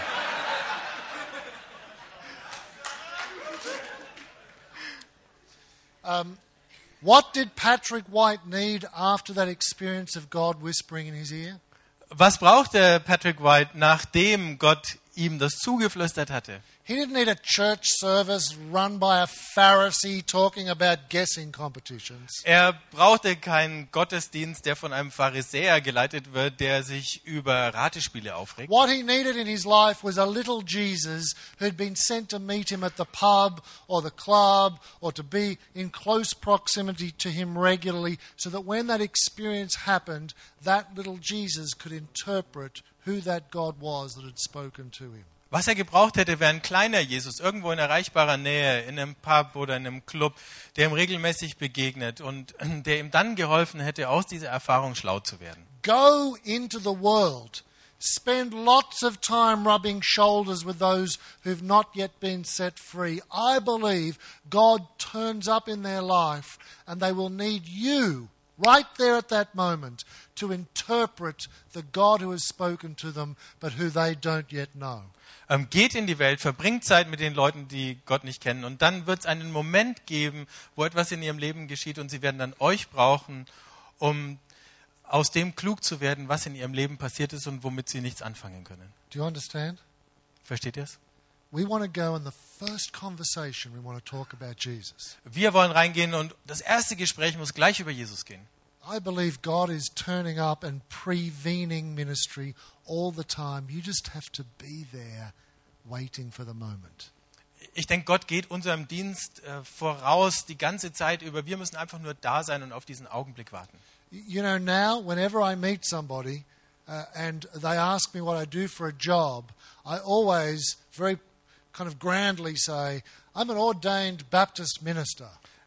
What did Patrick White need after that experience of God whispering in his ear? Was brauchte Patrick White, nachdem Gott ihm das zugeflüstert hatte? He didn't need a church service run by a Pharisee talking about guessing competitions. Er brauchte keinen Gottesdienst, der von einem Pharisäer geleitet wird, der sich über Ratespiele aufregt. What he needed in his life was a little Jesus who'd been sent to meet him at the pub or the club or to be in close proximity to him regularly so that when that experience happened, that little Jesus could interpret who that God was that had spoken to him. Was er gebraucht hätte, wäre ein kleiner Jesus, irgendwo in erreichbarer Nähe, in einem Pub oder in einem Club, der ihm regelmäßig begegnet und der ihm dann geholfen hätte, aus dieser Erfahrung schlau zu werden. Go into the world. Spend lots of time rubbing shoulders with those who've not yet been set free. I believe God turns up in their life and they will need you right there at that moment to interpret the God who has spoken to them but who they don't yet know. Geht in die Welt, verbringt Zeit mit den Leuten, die Gott nicht kennen. Und dann wird es einen Moment geben, wo etwas in ihrem Leben geschieht und sie werden dann euch brauchen, um aus dem klug zu werden, was in ihrem Leben passiert ist und womit sie nichts anfangen können. Do you understand? Versteht ihr es? We want to go in the first conversation, we want to talk about Jesus. Wir wollen reingehen und das erste Gespräch muss gleich über Jesus gehen. I believe God is turning up and prevening ministry all the time. You just have to be there waiting for the moment. Ich denke, Gott geht unserem Dienst voraus die ganze Zeit über. Wir müssen einfach nur da sein und auf diesen Augenblick warten. You know, now, whenever I meet somebody and they ask me what I do for a job, I always very kind of grandly say, I'm an ordained Baptist minister.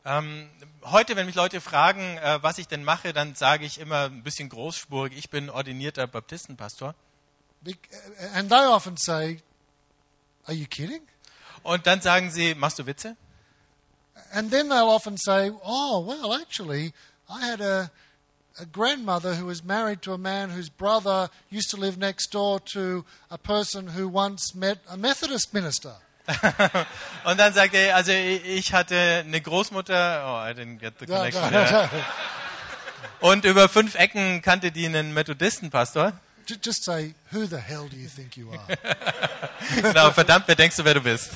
Heute, wenn mich Leute fragen, was ich denn mache, dann sage ich immer ein bisschen großspurig, ich bin ordinierter Baptistenpastor. And they often say, are you kidding? Und dann sagen sie, machst du Witze? And then they'll often say, oh, well, actually, I had a grandmother who was married to a man whose brother used to live next door to a person who once met a Methodist minister. Und dann sagt er, also ich hatte eine Großmutter, I didn't get the connection. Und über 5 Ecken kannte die einen Methodistenpastor. Just say, who the hell do you think you are? Genau, verdammt, wer denkst du, wer du bist?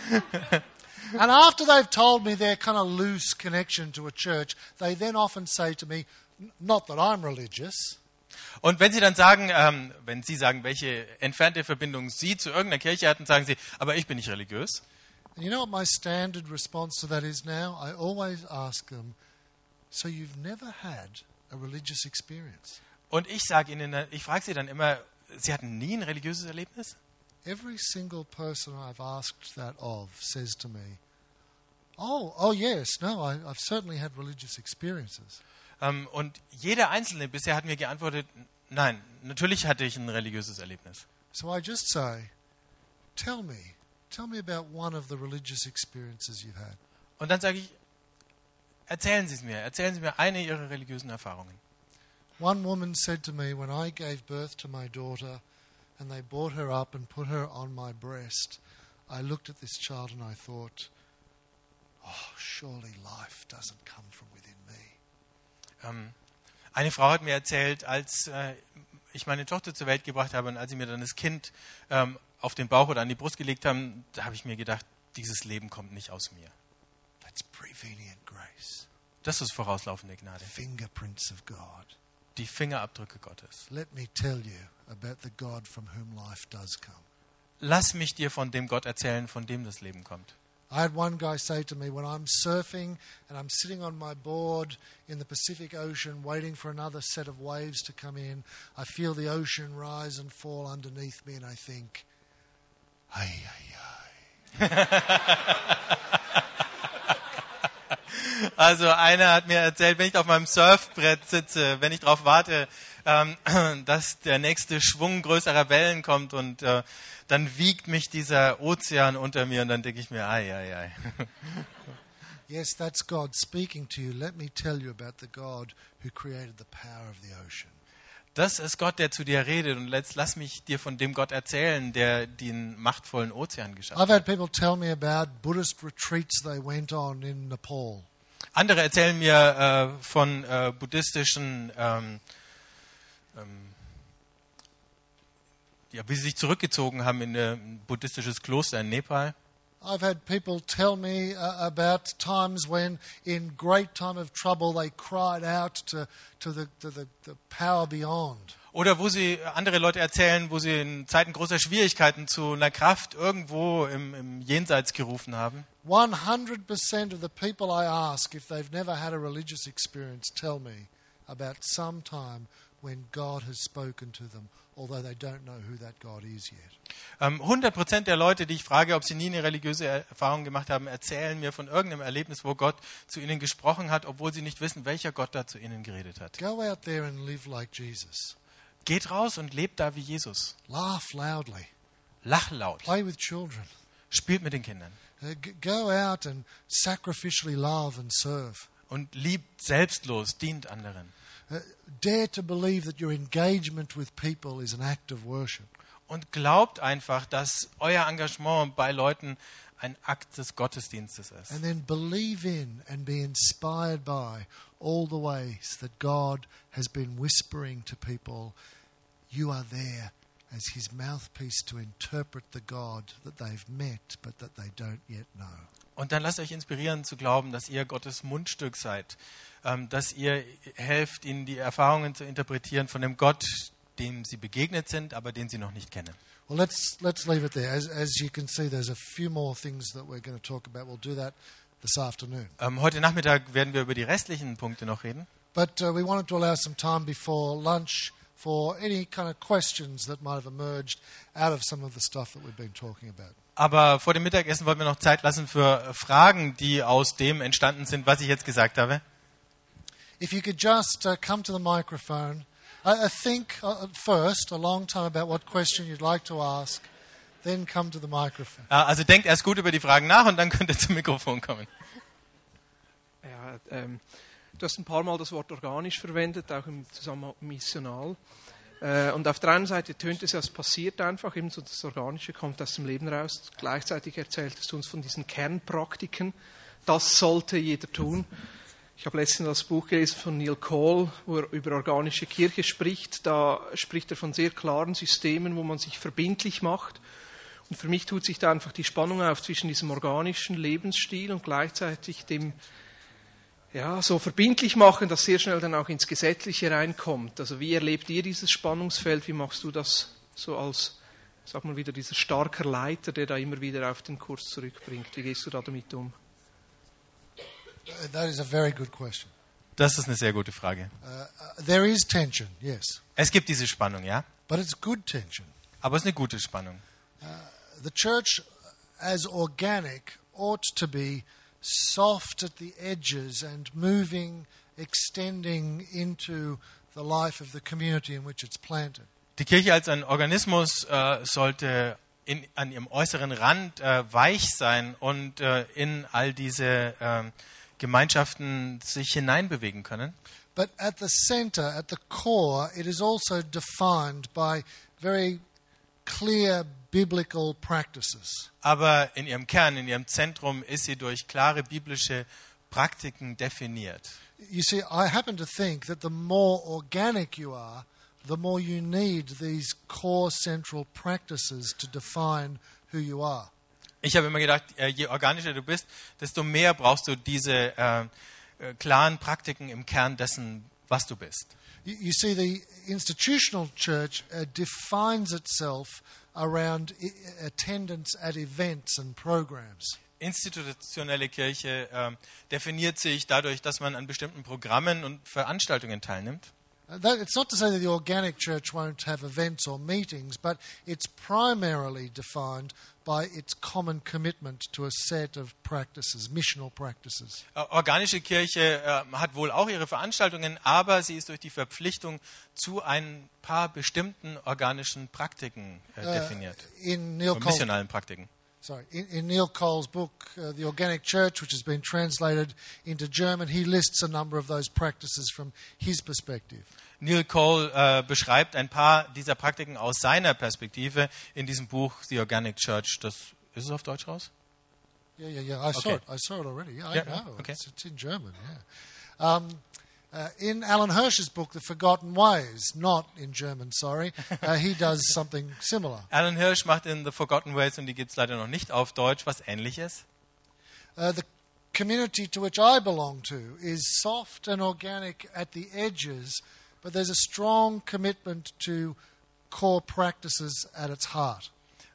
And after they've told me their kind of loose connection to a church, they then often say to me, not that I'm religious. Und wenn sie dann sagen, welche entfernte Verbindung sie zu irgendeiner Kirche hatten, sagen sie, aber ich bin nicht religiös. And you know what my standard response to that is now? I always ask them, so you've never had a religious experience? Und ich sage ihnen, ich frage sie dann immer, sie hatten nie ein religiöses Erlebnis? Every single person I've asked that of says to me, oh yes, no, I've certainly had religious experiences. Und jeder Einzelne bisher hat mir geantwortet, nein, natürlich hatte ich ein religiöses Erlebnis. So I just say, tell me about one of the religious experiences you've had. Und dann sage ich, erzählen Sie mir eine Ihrer religiösen Erfahrungen. One woman said to me when I gave birth to my daughter and they brought her up and put her on my breast, I looked at this child and I thought, oh, surely life doesn't come from within me. Eine Frau hat mir erzählt, als ich meine Tochter zur Welt gebracht habe und als sie mir dann das Kind auf den Bauch oder an die Brust gelegt haben, da habe ich mir gedacht, dieses Leben kommt nicht aus mir. That's prevenient grace. Das ist vorauslaufende Gnade. Fingerprints of God. Die Fingerabdrücke Gottes. Let me tell you about the God from whom life does come. Lass mich dir von dem Gott erzählen, von dem das Leben kommt. I had one guy say to me, when I'm surfing and I'm sitting on my board in the Pacific Ocean waiting for another set of waves to come in, I feel the ocean rise and fall underneath me and I think, ay, ay, ay. Also einer hat mir erzählt, wenn ich auf meinem Surfbrett sitze, wenn ich darauf warte, dass der nächste Schwung größerer Wellen kommt und dann wiegt mich dieser Ozean unter mir und dann denke ich mir, ei, ei, ei. Yes, that's God speaking to you. Let me tell you about the God who created the power of the ocean. Das ist Gott, der zu dir redet und lass mich dir von dem Gott erzählen, der den machtvollen Ozean geschaffen I've hat. had people tell me about Buddhist retreats they went on in Nepal. Andere erzählen mir von buddhistischen, wie sie sich zurückgezogen haben in ein buddhistisches Kloster in Nepal. I've had people tell me about times when, in great time of trouble, they cried out to the power beyond. Oder wo sie andere Leute erzählen, wo sie in Zeiten großer Schwierigkeiten zu einer Kraft irgendwo im Jenseits gerufen haben. 100% of the people I ask, if they've never had a religious experience, tell me about some time when God has spoken to them, although they don't know who that God is yet. 100% der Leute, die ich frage, ob sie nie eine religiöse Erfahrung gemacht haben, erzählen mir von irgendeinem Erlebnis, wo Gott zu ihnen gesprochen hat, obwohl sie nicht wissen, welcher Gott da zu ihnen geredet hat. Go out there and live like Jesus. Geht raus und lebt da wie Jesus. Laugh loudly. Lach laut. Play with children. Spielt mit den Kindern. Go out and sacrificially love and serve. Und liebt selbstlos, dient anderen. Dare to believe that your engagement with people is an act of worship. Und glaubt einfach, dass euer Engagement bei Leuten ein Akt des Gottesdienstes ist. And then believe in and be inspired by all the ways that God has been whispering to people, you are there as his mouthpiece to interpret the God that they've met but that they don't yet know. Und dann lasst euch inspirieren zu glauben, dass ihr Gottes Mundstück seid, dass ihr helft, ihnen die Erfahrungen zu interpretieren von dem Gott, dem sie begegnet sind, aber den sie noch nicht kennen. Well, let's leave it there. As you can see, there's a few more things that we're going to talk about. We'll do that this afternoon. Heute Nachmittag werden wir über die restlichen Punkte noch reden. But we wanted to allow some time before lunch for any kind of questions that might have emerged out of some of the stuff that we've been talking about. Aber vor dem Mittagessen wollen wir noch Zeit lassen für Fragen, die aus dem entstanden sind, was ich jetzt gesagt habe. If you could just come to the microphone, think first a long time about what question you'd like to ask, then come to the microphone. Also denkt erst gut über die Fragen nach und dann könnt ihr zum Mikrofon kommen. Ja, du hast ein paar Mal das Wort organisch verwendet, auch im Zusammenhang missional. Und auf der einen Seite tönt es ja, es passiert einfach, eben so das Organische kommt aus dem Leben raus. Gleichzeitig erzähltest du uns von diesen Kernpraktiken. Das sollte jeder tun. Ich habe letztens das Buch gelesen von Neil Cole, wo er über organische Kirche spricht. Da spricht er von sehr klaren Systemen, wo man sich verbindlich macht. Und für mich tut sich da einfach die Spannung auf zwischen diesem organischen Lebensstil und gleichzeitig dem so verbindlich machen, dass sehr schnell dann auch ins Gesetzliche reinkommt. Also wie erlebt ihr dieses Spannungsfeld? Wie machst du das so als, sag mal wieder, dieser starker Leiter, der da immer wieder auf den Kurs zurückbringt? Wie gehst du da damit um? That is a very good question. Das ist eine sehr gute Frage. There is tension, yes, Es gibt diese Spannung, ja, but it's good tension. aber es ist eine gute Spannung. The church, as organic, ought to be soft at the edges and moving, extending into the life of the community in which it's planted. Die Kirche als ein Organismus sollte an ihrem äußeren Rand weich sein und in all diese Gemeinschaften sich hineinbewegen können. But at the center, at the core, it is also defined by very clear biblical practices. Aber in ihrem Kern, in ihrem Zentrum ist sie durch klare biblische Praktiken definiert. You see, I happen to think that the more organic you are, the more you need these core central practices to define who you are. Ich habe immer gedacht, je organischer du bist, desto mehr brauchst du diese klaren Praktiken im Kern dessen, was du bist. You see, the institutional church defines itself around attendance at events and programs. institutionelle Kirche definiert sich dadurch, dass man an bestimmten Programmen und Veranstaltungen teilnimmt. It's not to say that the organic church won't have events or meetings, but it's primarily defined by its common commitment to a set of practices, missional practices. Organische Kirche hat wohl auch ihre Veranstaltungen, aber sie ist durch die Verpflichtung zu ein paar bestimmten organischen Praktiken definiert. Missionalen Praktiken. In Neil Cole's book, The Organic Church, which has been translated into German, he lists a number of those practices from his perspective. Neil Cole beschreibt ein paar dieser Praktiken aus seiner Perspektive in diesem Buch The Organic Church. Das ist es auf Deutsch raus? Yeah. I saw it already. Yeah, I know. Okay. It's in German. Yeah. In Alan Hirsch's book, The Forgotten Ways, not in German, sorry, he does something similar. Alan Hirsch macht in The Forgotten Ways, und die gibt es leider noch nicht auf Deutsch, was Ähnliches. The community to which I belong to is soft and organic at the edges, but there's a strong commitment to core practices at its heart.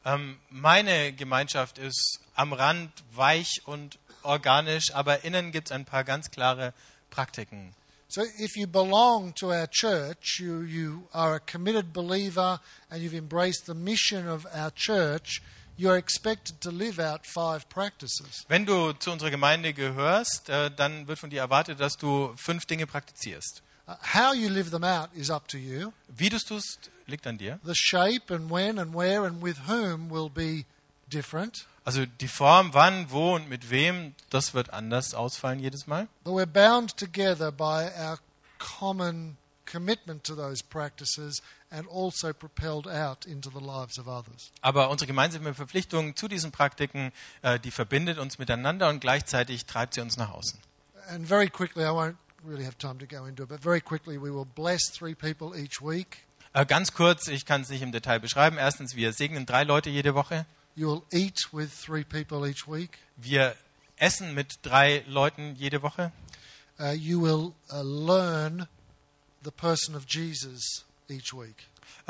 Meine Gemeinschaft ist am Rand weich und organisch, aber innen gibt es ein paar ganz klare Praktiken. So if you belong to our church, you are a committed believer and you've embraced the mission of our church, you are expected to live out 5 practices. Wenn du zu unserer Gemeinde gehörst, dann wird von dir erwartet, dass du 5 Dinge praktizierst. How you live them out is up to you. Wie du es tust, liegt an dir. The shape and when and where and with whom will be different. Also die Form, wann, wo und mit wem, das wird anders ausfallen jedes Mal. But we're bound together by our common commitment to those practices and also propelled out into the lives of others. Aber unsere gemeinsame Verpflichtung zu diesen Praktiken, die verbindet uns miteinander und gleichzeitig treibt sie uns nach außen. And very quickly, I won't really have time to go into it, but very quickly we will bless 3 people each week. Ganz kurz, ich kann es nicht im Detail beschreiben. Erstens, wir segnen 3 Leute jede Woche. You will eat with 3 people each week. Wir essen mit 3 Leuten jede Woche. You will learn the person of Jesus each week.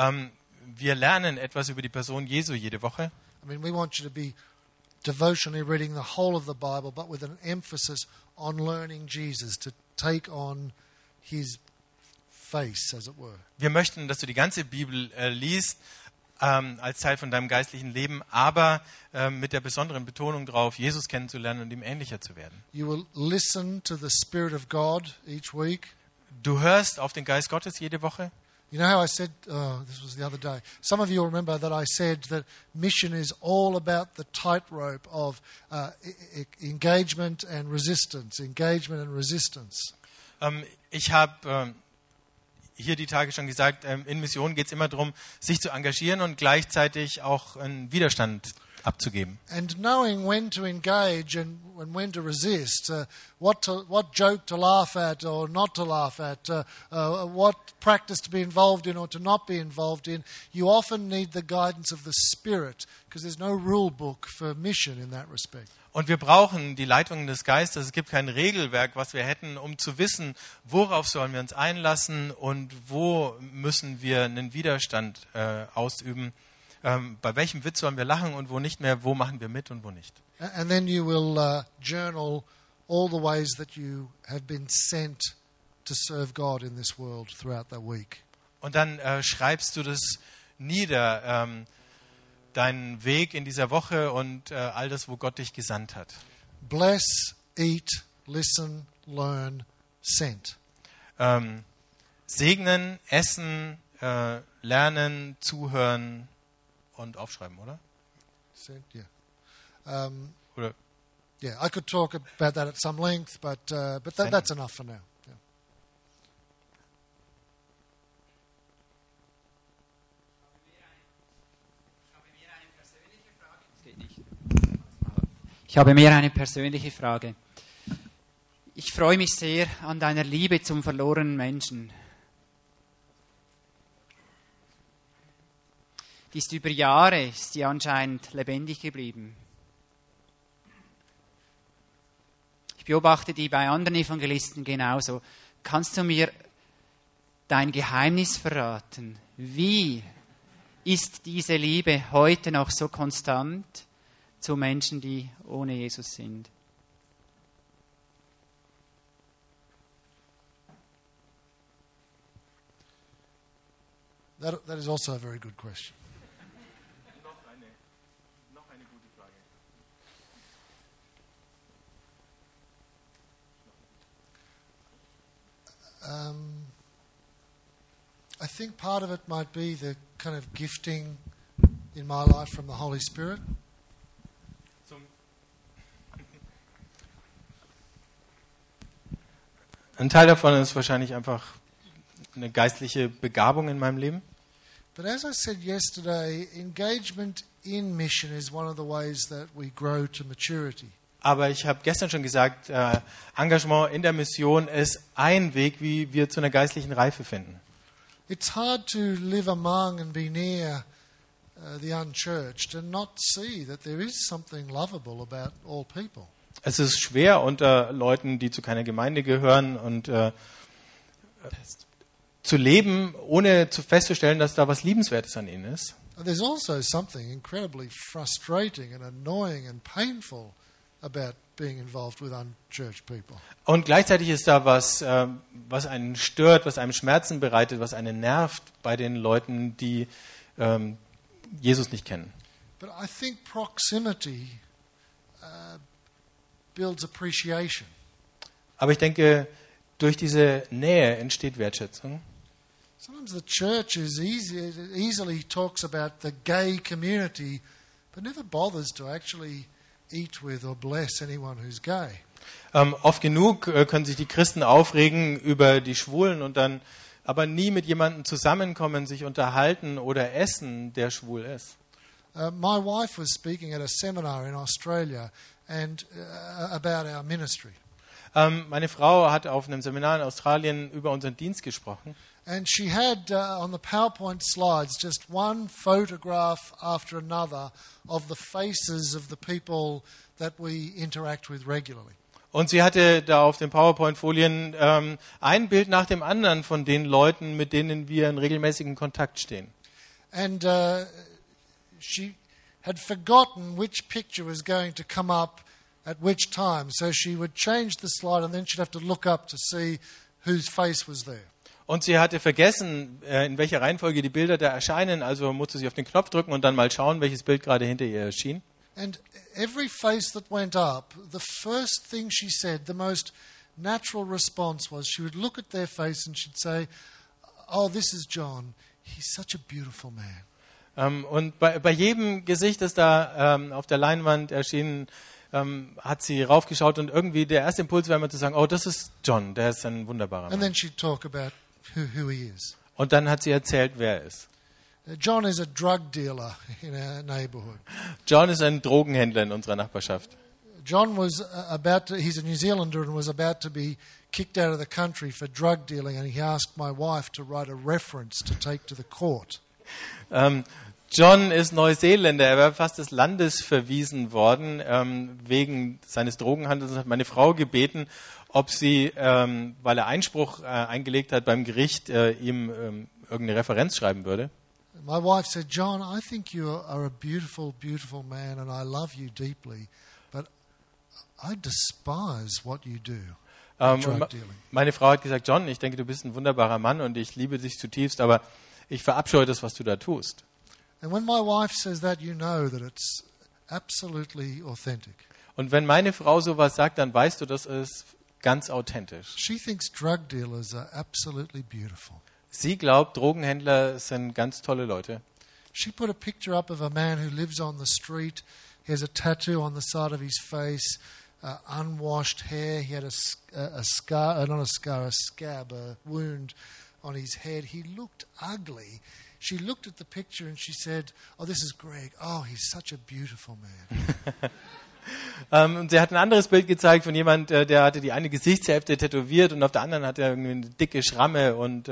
Wir lernen etwas über die Person Jesu jede Woche. I mean, we want you to be devotionally reading the whole of the Bible, but with an emphasis on learning Jesus, to take on his face, as it were. Wir möchten, dass du die ganze Bibel liest, als Teil von deinem geistlichen Leben, aber mit der besonderen Betonung darauf, Jesus kennenzulernen und ihm ähnlicher zu werden. You will listen to the Spirit of God each week. Du hörst auf den Geist Gottes jede Woche. You know how I said, this was the other day, some of you will remember that I said that mission is all about the tightrope of engagement and resistance, Ich habe hier die Tage schon gesagt, in Mission geht es immer darum, sich zu engagieren und gleichzeitig auch einen Widerstand abzugeben. And knowing when to engage and when to resist, what joke to laugh at or not to laugh at, what practice to be involved in or to not be involved in, you often need the guidance of the Spirit, because there's no rule book for mission in that respect. Und wir brauchen die Leitung des Geistes. Es gibt kein Regelwerk, was wir hätten, um zu wissen, worauf sollen wir uns einlassen und wo müssen wir einen Widerstand ausüben. Bei welchem Witz sollen wir lachen und wo nicht mehr, wo machen wir mit und wo nicht. And then you will journal all the ways that you have been sent to serve God in this world throughout the week. Und dann schreibst du das nieder, deinen Weg in dieser Woche und all das, wo Gott dich gesandt hat. Bless, eat, listen, learn, sent. Segnen, essen, lernen, zuhören und aufschreiben, oder? Sent, yeah. Oder? Yeah, I could talk about that at some length, but that's enough for now. Yeah. Ich habe mehr eine persönliche Frage. Ich freue mich sehr an deiner Liebe zum verlorenen Menschen. Die ist über Jahre, ist die anscheinend lebendig geblieben. Ich beobachte die bei anderen Evangelisten genauso. Kannst du mir dein Geheimnis verraten? Wie ist diese Liebe heute noch so konstant, zu Menschen, die ohne Jesus sind? That is also a very good question. Noch eine gute Frage. I think part of it might be the kind of gifting in my life from the Holy Spirit. Ein Teil davon ist wahrscheinlich einfach eine geistliche Begabung in meinem Leben. But as I said yesterday, engagement in mission is one of the ways that we grow to maturity. Aber ich habe gestern schon gesagt, Engagement in der Mission ist ein Weg, wie wir zu einer geistlichen Reife finden. It's hard to live among and be near the unchurched and not see that there is something lovable about all people. Es ist schwer unter Leuten, die zu keiner Gemeinde gehören und zu leben, ohne festzustellen, dass da was Liebenswertes an ihnen ist. And there's also something incredibly frustrating and annoying and painful about being involved with unchurched people. Und gleichzeitig ist da was, was einen stört, was einem Schmerzen bereitet, was einen nervt bei den Leuten, die Jesus nicht kennen. But I think proximity builds appreciation. Aber ich denke, durch diese Nähe entsteht Wertschätzung. Sometimes the church easily talks about the gay community, but never bothers to actually eat with or bless anyone who's gay. Oft genug können sich die Christen aufregen über die Schwulen und dann aber nie mit jemandem zusammenkommen, sich unterhalten oder essen, der schwul ist. My wife was speaking at a seminar in Australia and about our ministry. Meine Frau hat auf einem Seminar in Australien über unseren Dienst gesprochen. And she had on the PowerPoint slides just one photograph after another of the faces of the people that we interact with regularly. Und sie hatte da auf den PowerPoint-Folien ein Bild nach dem anderen von den Leuten, mit denen wir in regelmäßigen Kontakt stehen. And she had forgotten which picture was going to come up at which time. So she would change the slide and then she'd have to look up to see whose face was there. Und sie hatte vergessen, in welcher Reihenfolge die Bilder da erscheinen, also musste sie auf den Knopf drücken und dann mal schauen, welches Bild gerade hinter ihr erschien. And every face that went up, the first thing she said, the most natural response was she would look at their face and she'd say, "Oh, this is John. He's such a beautiful man." Und bei jedem Gesicht, das da auf der Leinwand erschien, hat sie raufgeschaut und irgendwie der erste Impuls war immer zu sagen, oh, das ist John, der ist ein wunderbarer And Mann. then she'd talk about who he is. Und dann hat sie erzählt, wer er ist. John is a drug dealer in our neighbourhood. John ist ein Drogenhändler in unserer Nachbarschaft. John was he's a New Zealander and was about to be kicked out of the country for drug dealing, and he asked my wife to write a reference to take to the court. John ist Neuseeländer, er war fast des Landes verwiesen worden wegen seines Drogenhandels und hat meine Frau gebeten, ob sie, weil er Einspruch eingelegt hat beim Gericht, ihm irgendeine Referenz schreiben würde. My wife said, "John, I think you are a beautiful, beautiful man and I love you deeply, but I despise what you do, drug dealing." Meine Frau hat gesagt, John, ich denke, du bist ein wunderbarer Mann und ich liebe dich zutiefst, aber ich verabscheue das, was du da tust. And when my wife says that, you know that it's absolutely authentic. Und wenn meine Frau sowas sagt, dann weißt du, das ist ganz authentisch. She thinks drug dealers are absolutely beautiful. Sie glaubt, Drogenhändler sind ganz tolle Leute. She put a picture up of a man who lives on the street. He has a tattoo on the side of his face, unwashed hair. He had a scab, a wound on his head. He looked ugly. She looked at the picture and she said, "Oh, this is Greg. Oh, he's such a beautiful man." Und sie hat ein anderes Bild gezeigt von jemand, der hatte die eine Gesichtshälfte tätowiert und auf der anderen hat er irgendwie eine dicke Schramme und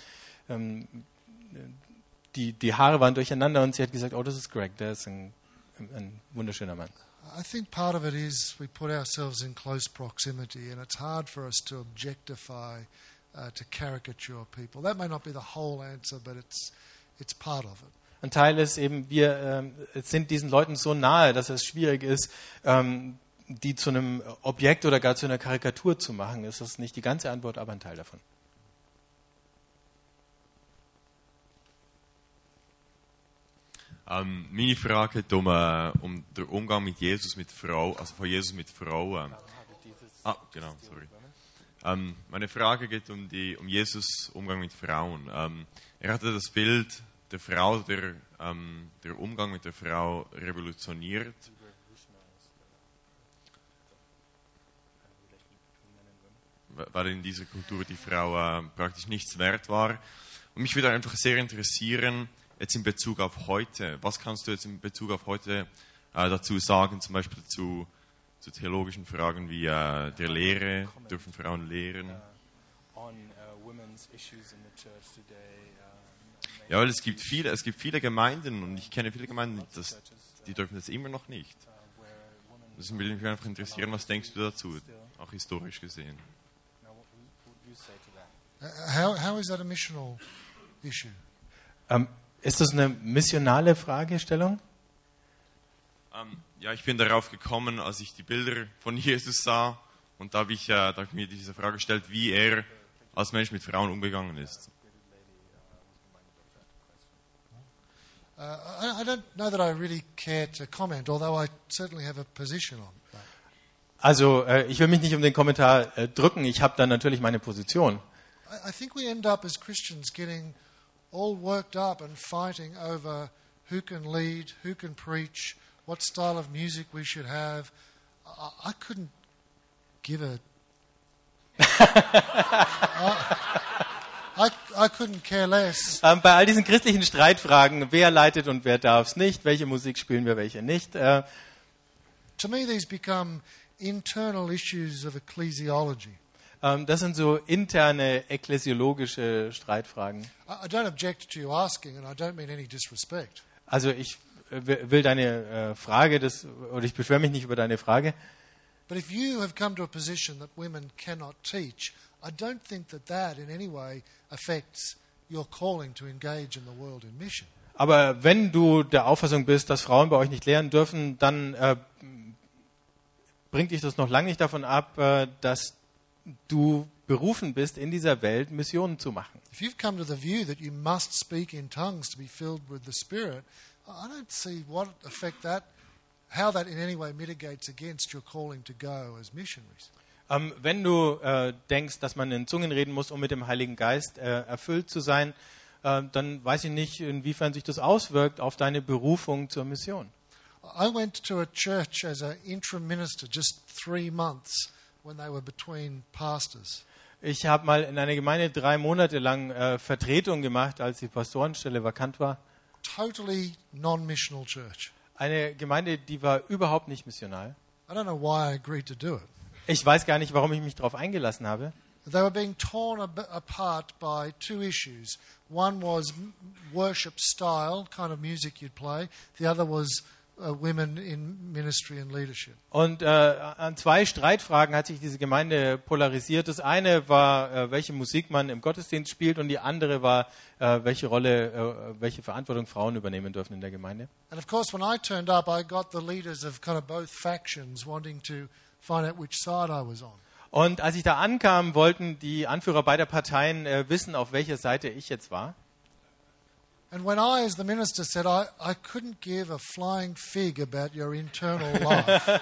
die Haare waren durcheinander und sie hat gesagt, oh, das ist Greg, der ist ein wunderschöner Mann. I think part of it is we put ourselves in close proximity and it's hard for us to objectify, to caricature people. That may not be the whole answer, but it's part of it. Ein Teil ist eben, wir sind diesen Leuten so nahe, dass es schwierig ist, die zu einem Objekt oder gar zu einer Karikatur zu machen. Das ist nicht die ganze Antwort, aber ein Teil davon. Meine Frage geht um den Umgang mit Jesus mit Frauen, also von Jesus mit Frauen. Genau, sorry. Meine Frage geht um Jesus Umgang mit Frauen. Er hatte das Bild der Frau, der Umgang mit der Frau revolutioniert. Weil in dieser Kultur die Frau praktisch nichts wert war. Und mich würde einfach sehr interessieren, jetzt in Bezug auf heute, was kannst du jetzt in Bezug auf heute dazu sagen, zum Beispiel zu theologischen Fragen wie der Lehre, dürfen Frauen lehren? Ja, weil es gibt viele Gemeinden und ich kenne viele Gemeinden, die dürfen das immer noch nicht. Das würde mich einfach interessieren, was denkst du dazu, auch historisch gesehen? How is that a missional issue? Ist das eine missionale Fragestellung? Ja, ich bin darauf gekommen, als ich die Bilder von Jesus sah und da habe ich mir diese Frage gestellt, wie er als Mensch mit Frauen umgegangen ist. I don't know that I really care to comment, although I certainly have a position on that. Also, ich will mich nicht um den Kommentar drücken, ich habe da natürlich meine Position. I think we end up as Christians getting all worked up and fighting over who can lead, who can preach, what style of music we should have. I couldn't give a... I couldn't care less. Bei all diesen christlichen Streitfragen, wer leitet und wer darf es nicht, welche Musik spielen wir, welche nicht. To me these become internal issues of ecclesiology. Das sind so interne ekklesiologische Streitfragen. I don't object to you asking, and I don't mean any disrespect. Also ich will deine Frage, oder ich beschwere mich nicht über deine Frage. But if you have come to a position that women cannot teach, I don't think that in any way affects your calling to engage in the world in mission. Aber wenn du der Auffassung bist, dass Frauen bei euch nicht lehren dürfen, dann bringt dich das noch lange nicht davon ab, dass du berufen bist, in dieser Welt Missionen zu machen. If you've come to the view that you must speak in tongues to be filled with the Spirit, I don't see how that in any way mitigates against your calling to go as missionaries. Wenn du denkst, dass man in Zungen reden muss, um mit dem Heiligen Geist erfüllt zu sein, dann weiß ich nicht, inwiefern sich das auswirkt auf deine Berufung zur Mission. I went to a church as an interim minister just 3 months when they were between pastors. Ich habe mal in einer Gemeinde 3 Monate lang Vertretung gemacht, als die Pastorenstelle vakant war. Totally non-missional church. Eine Gemeinde, die war überhaupt nicht missional. I don't know why I agreed to do it. Ich weiß gar nicht, warum ich mich darauf eingelassen habe. They were being torn apart by 2 issues. One was worship style, kind of music you'd play. The other was women in ministry and leadership. Und an 2 Streitfragen hat sich diese Gemeinde polarisiert. Das eine war, welche Musik man im Gottesdienst spielt, und die andere war, welche Rolle, welche Verantwortung Frauen übernehmen dürfen in der Gemeinde. And of course, when I turned up, I got the leaders of kind of both factions wanting to find out which side I was on. Und als ich da ankam, wollten die Anführer beider Parteien wissen, auf welcher Seite ich jetzt war. And when I, as the minister, said I couldn't give a flying fig about your internal life,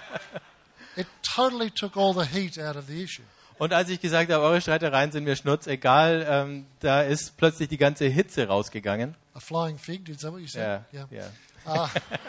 it totally took all the heat out of the issue. Und als ich gesagt habe, eure Streitereien sind mir schnurzegal, da ist plötzlich die ganze Hitze rausgegangen. A flying fig, is that what you said? Yeah.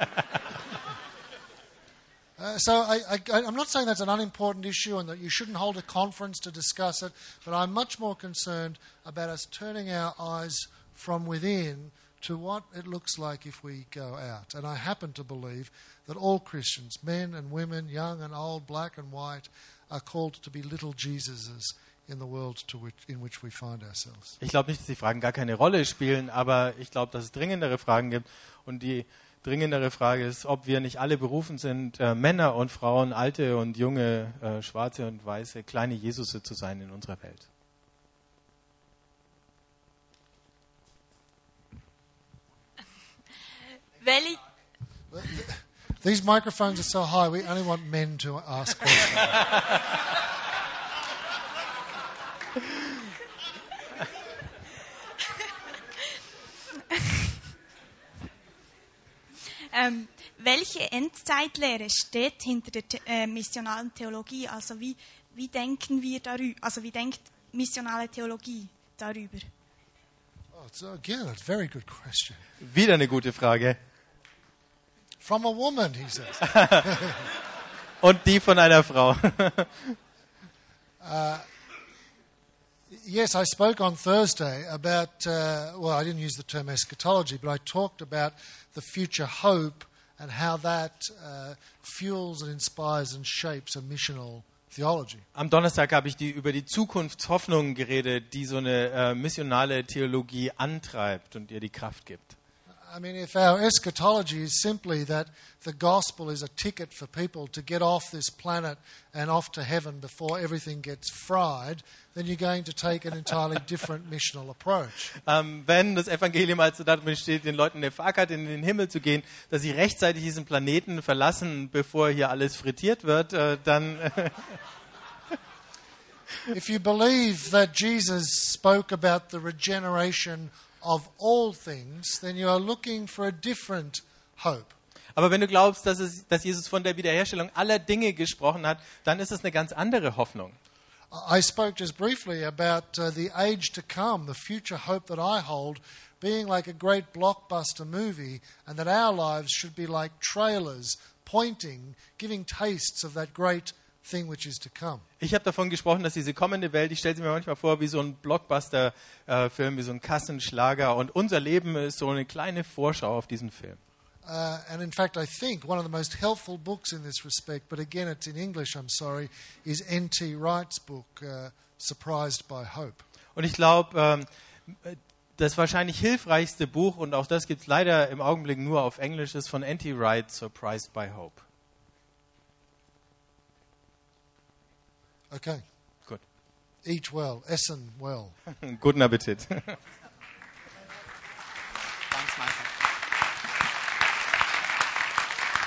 So I'm not saying that's an unimportant issue and that you shouldn't hold a conference to discuss it, but I'm much more concerned about us turning our eyes from within to what it looks like if we go out. And I happen to believe that all Christians, men and women, young and old, black and white, are called to be little Jesuses in the world in which we find ourselves. Ich glaube nicht, dass die Fragen gar keine Rolle spielen, aber ich glaube, dass es dringendere Fragen gibt. Und die dringendere Frage ist, ob wir nicht alle berufen sind, Männer und Frauen, alte und junge, schwarze und weiße, kleine Jesusse zu sein in unserer Welt. Welche, These microphones are so high, we only want men to ask questions. welche Endzeitlehre steht hinter der missionalen Theologie? Also wie denken wir darüber? Also wie denkt missionale Theologie darüber? Oh, it's, again, a very good question. Wieder eine gute Frage. From a woman, he says. Und die von einer Frau. Yes, I spoke on Thursday about, I didn't use the term eschatology, but I talked about the future hope and how that fuels and inspires and shapes a missional theology. Am Donnerstag habe ich über die Zukunftshoffnung geredet, die so eine missionale Theologie antreibt und ihr die Kraft gibt. I mean, if our eschatology is simply that the gospel is a ticket for people to get off this planet and off to heaven before everything gets fried, then you're going to take an entirely different missional approach. Wenn das Evangelium also darin besteht, den Leuten eine Fahrkarte in den Himmel zu gehen, dass sie rechtzeitig diesen Planeten verlassen, bevor hier alles frittiert wird, dann... If you believe that Jesus spoke about the regeneration of all things, then you are looking for a different hope. Aber wenn du glaubst, dass Jesus von der Wiederherstellung aller Dinge gesprochen hat, dann ist es eine ganz andere Hoffnung. I spoke just briefly about the age to come, the future hope that I hold, being like a great blockbuster movie, and that our lives should be like trailers pointing, giving tastes of that great thing which is to come. Ich habe davon gesprochen, dass diese kommende Welt, ich stelle sie mir manchmal vor wie so ein Blockbuster-Film, wie so ein Kassenschlager, und unser Leben ist so eine kleine Vorschau auf diesen Film. And in fact, I think one of the most helpful books in this respect, but again it's in English, I'm sorry, is N.T. Wright's book, Surprised by Hope. Und ich glaube, das wahrscheinlich hilfreichste Buch, und auch das gibt es leider im Augenblick nur auf Englisch, ist von N.T. Wright, Surprised by Hope. Okay. Gut. Eat well, essen well. Guten Appetit. Ganz Michael.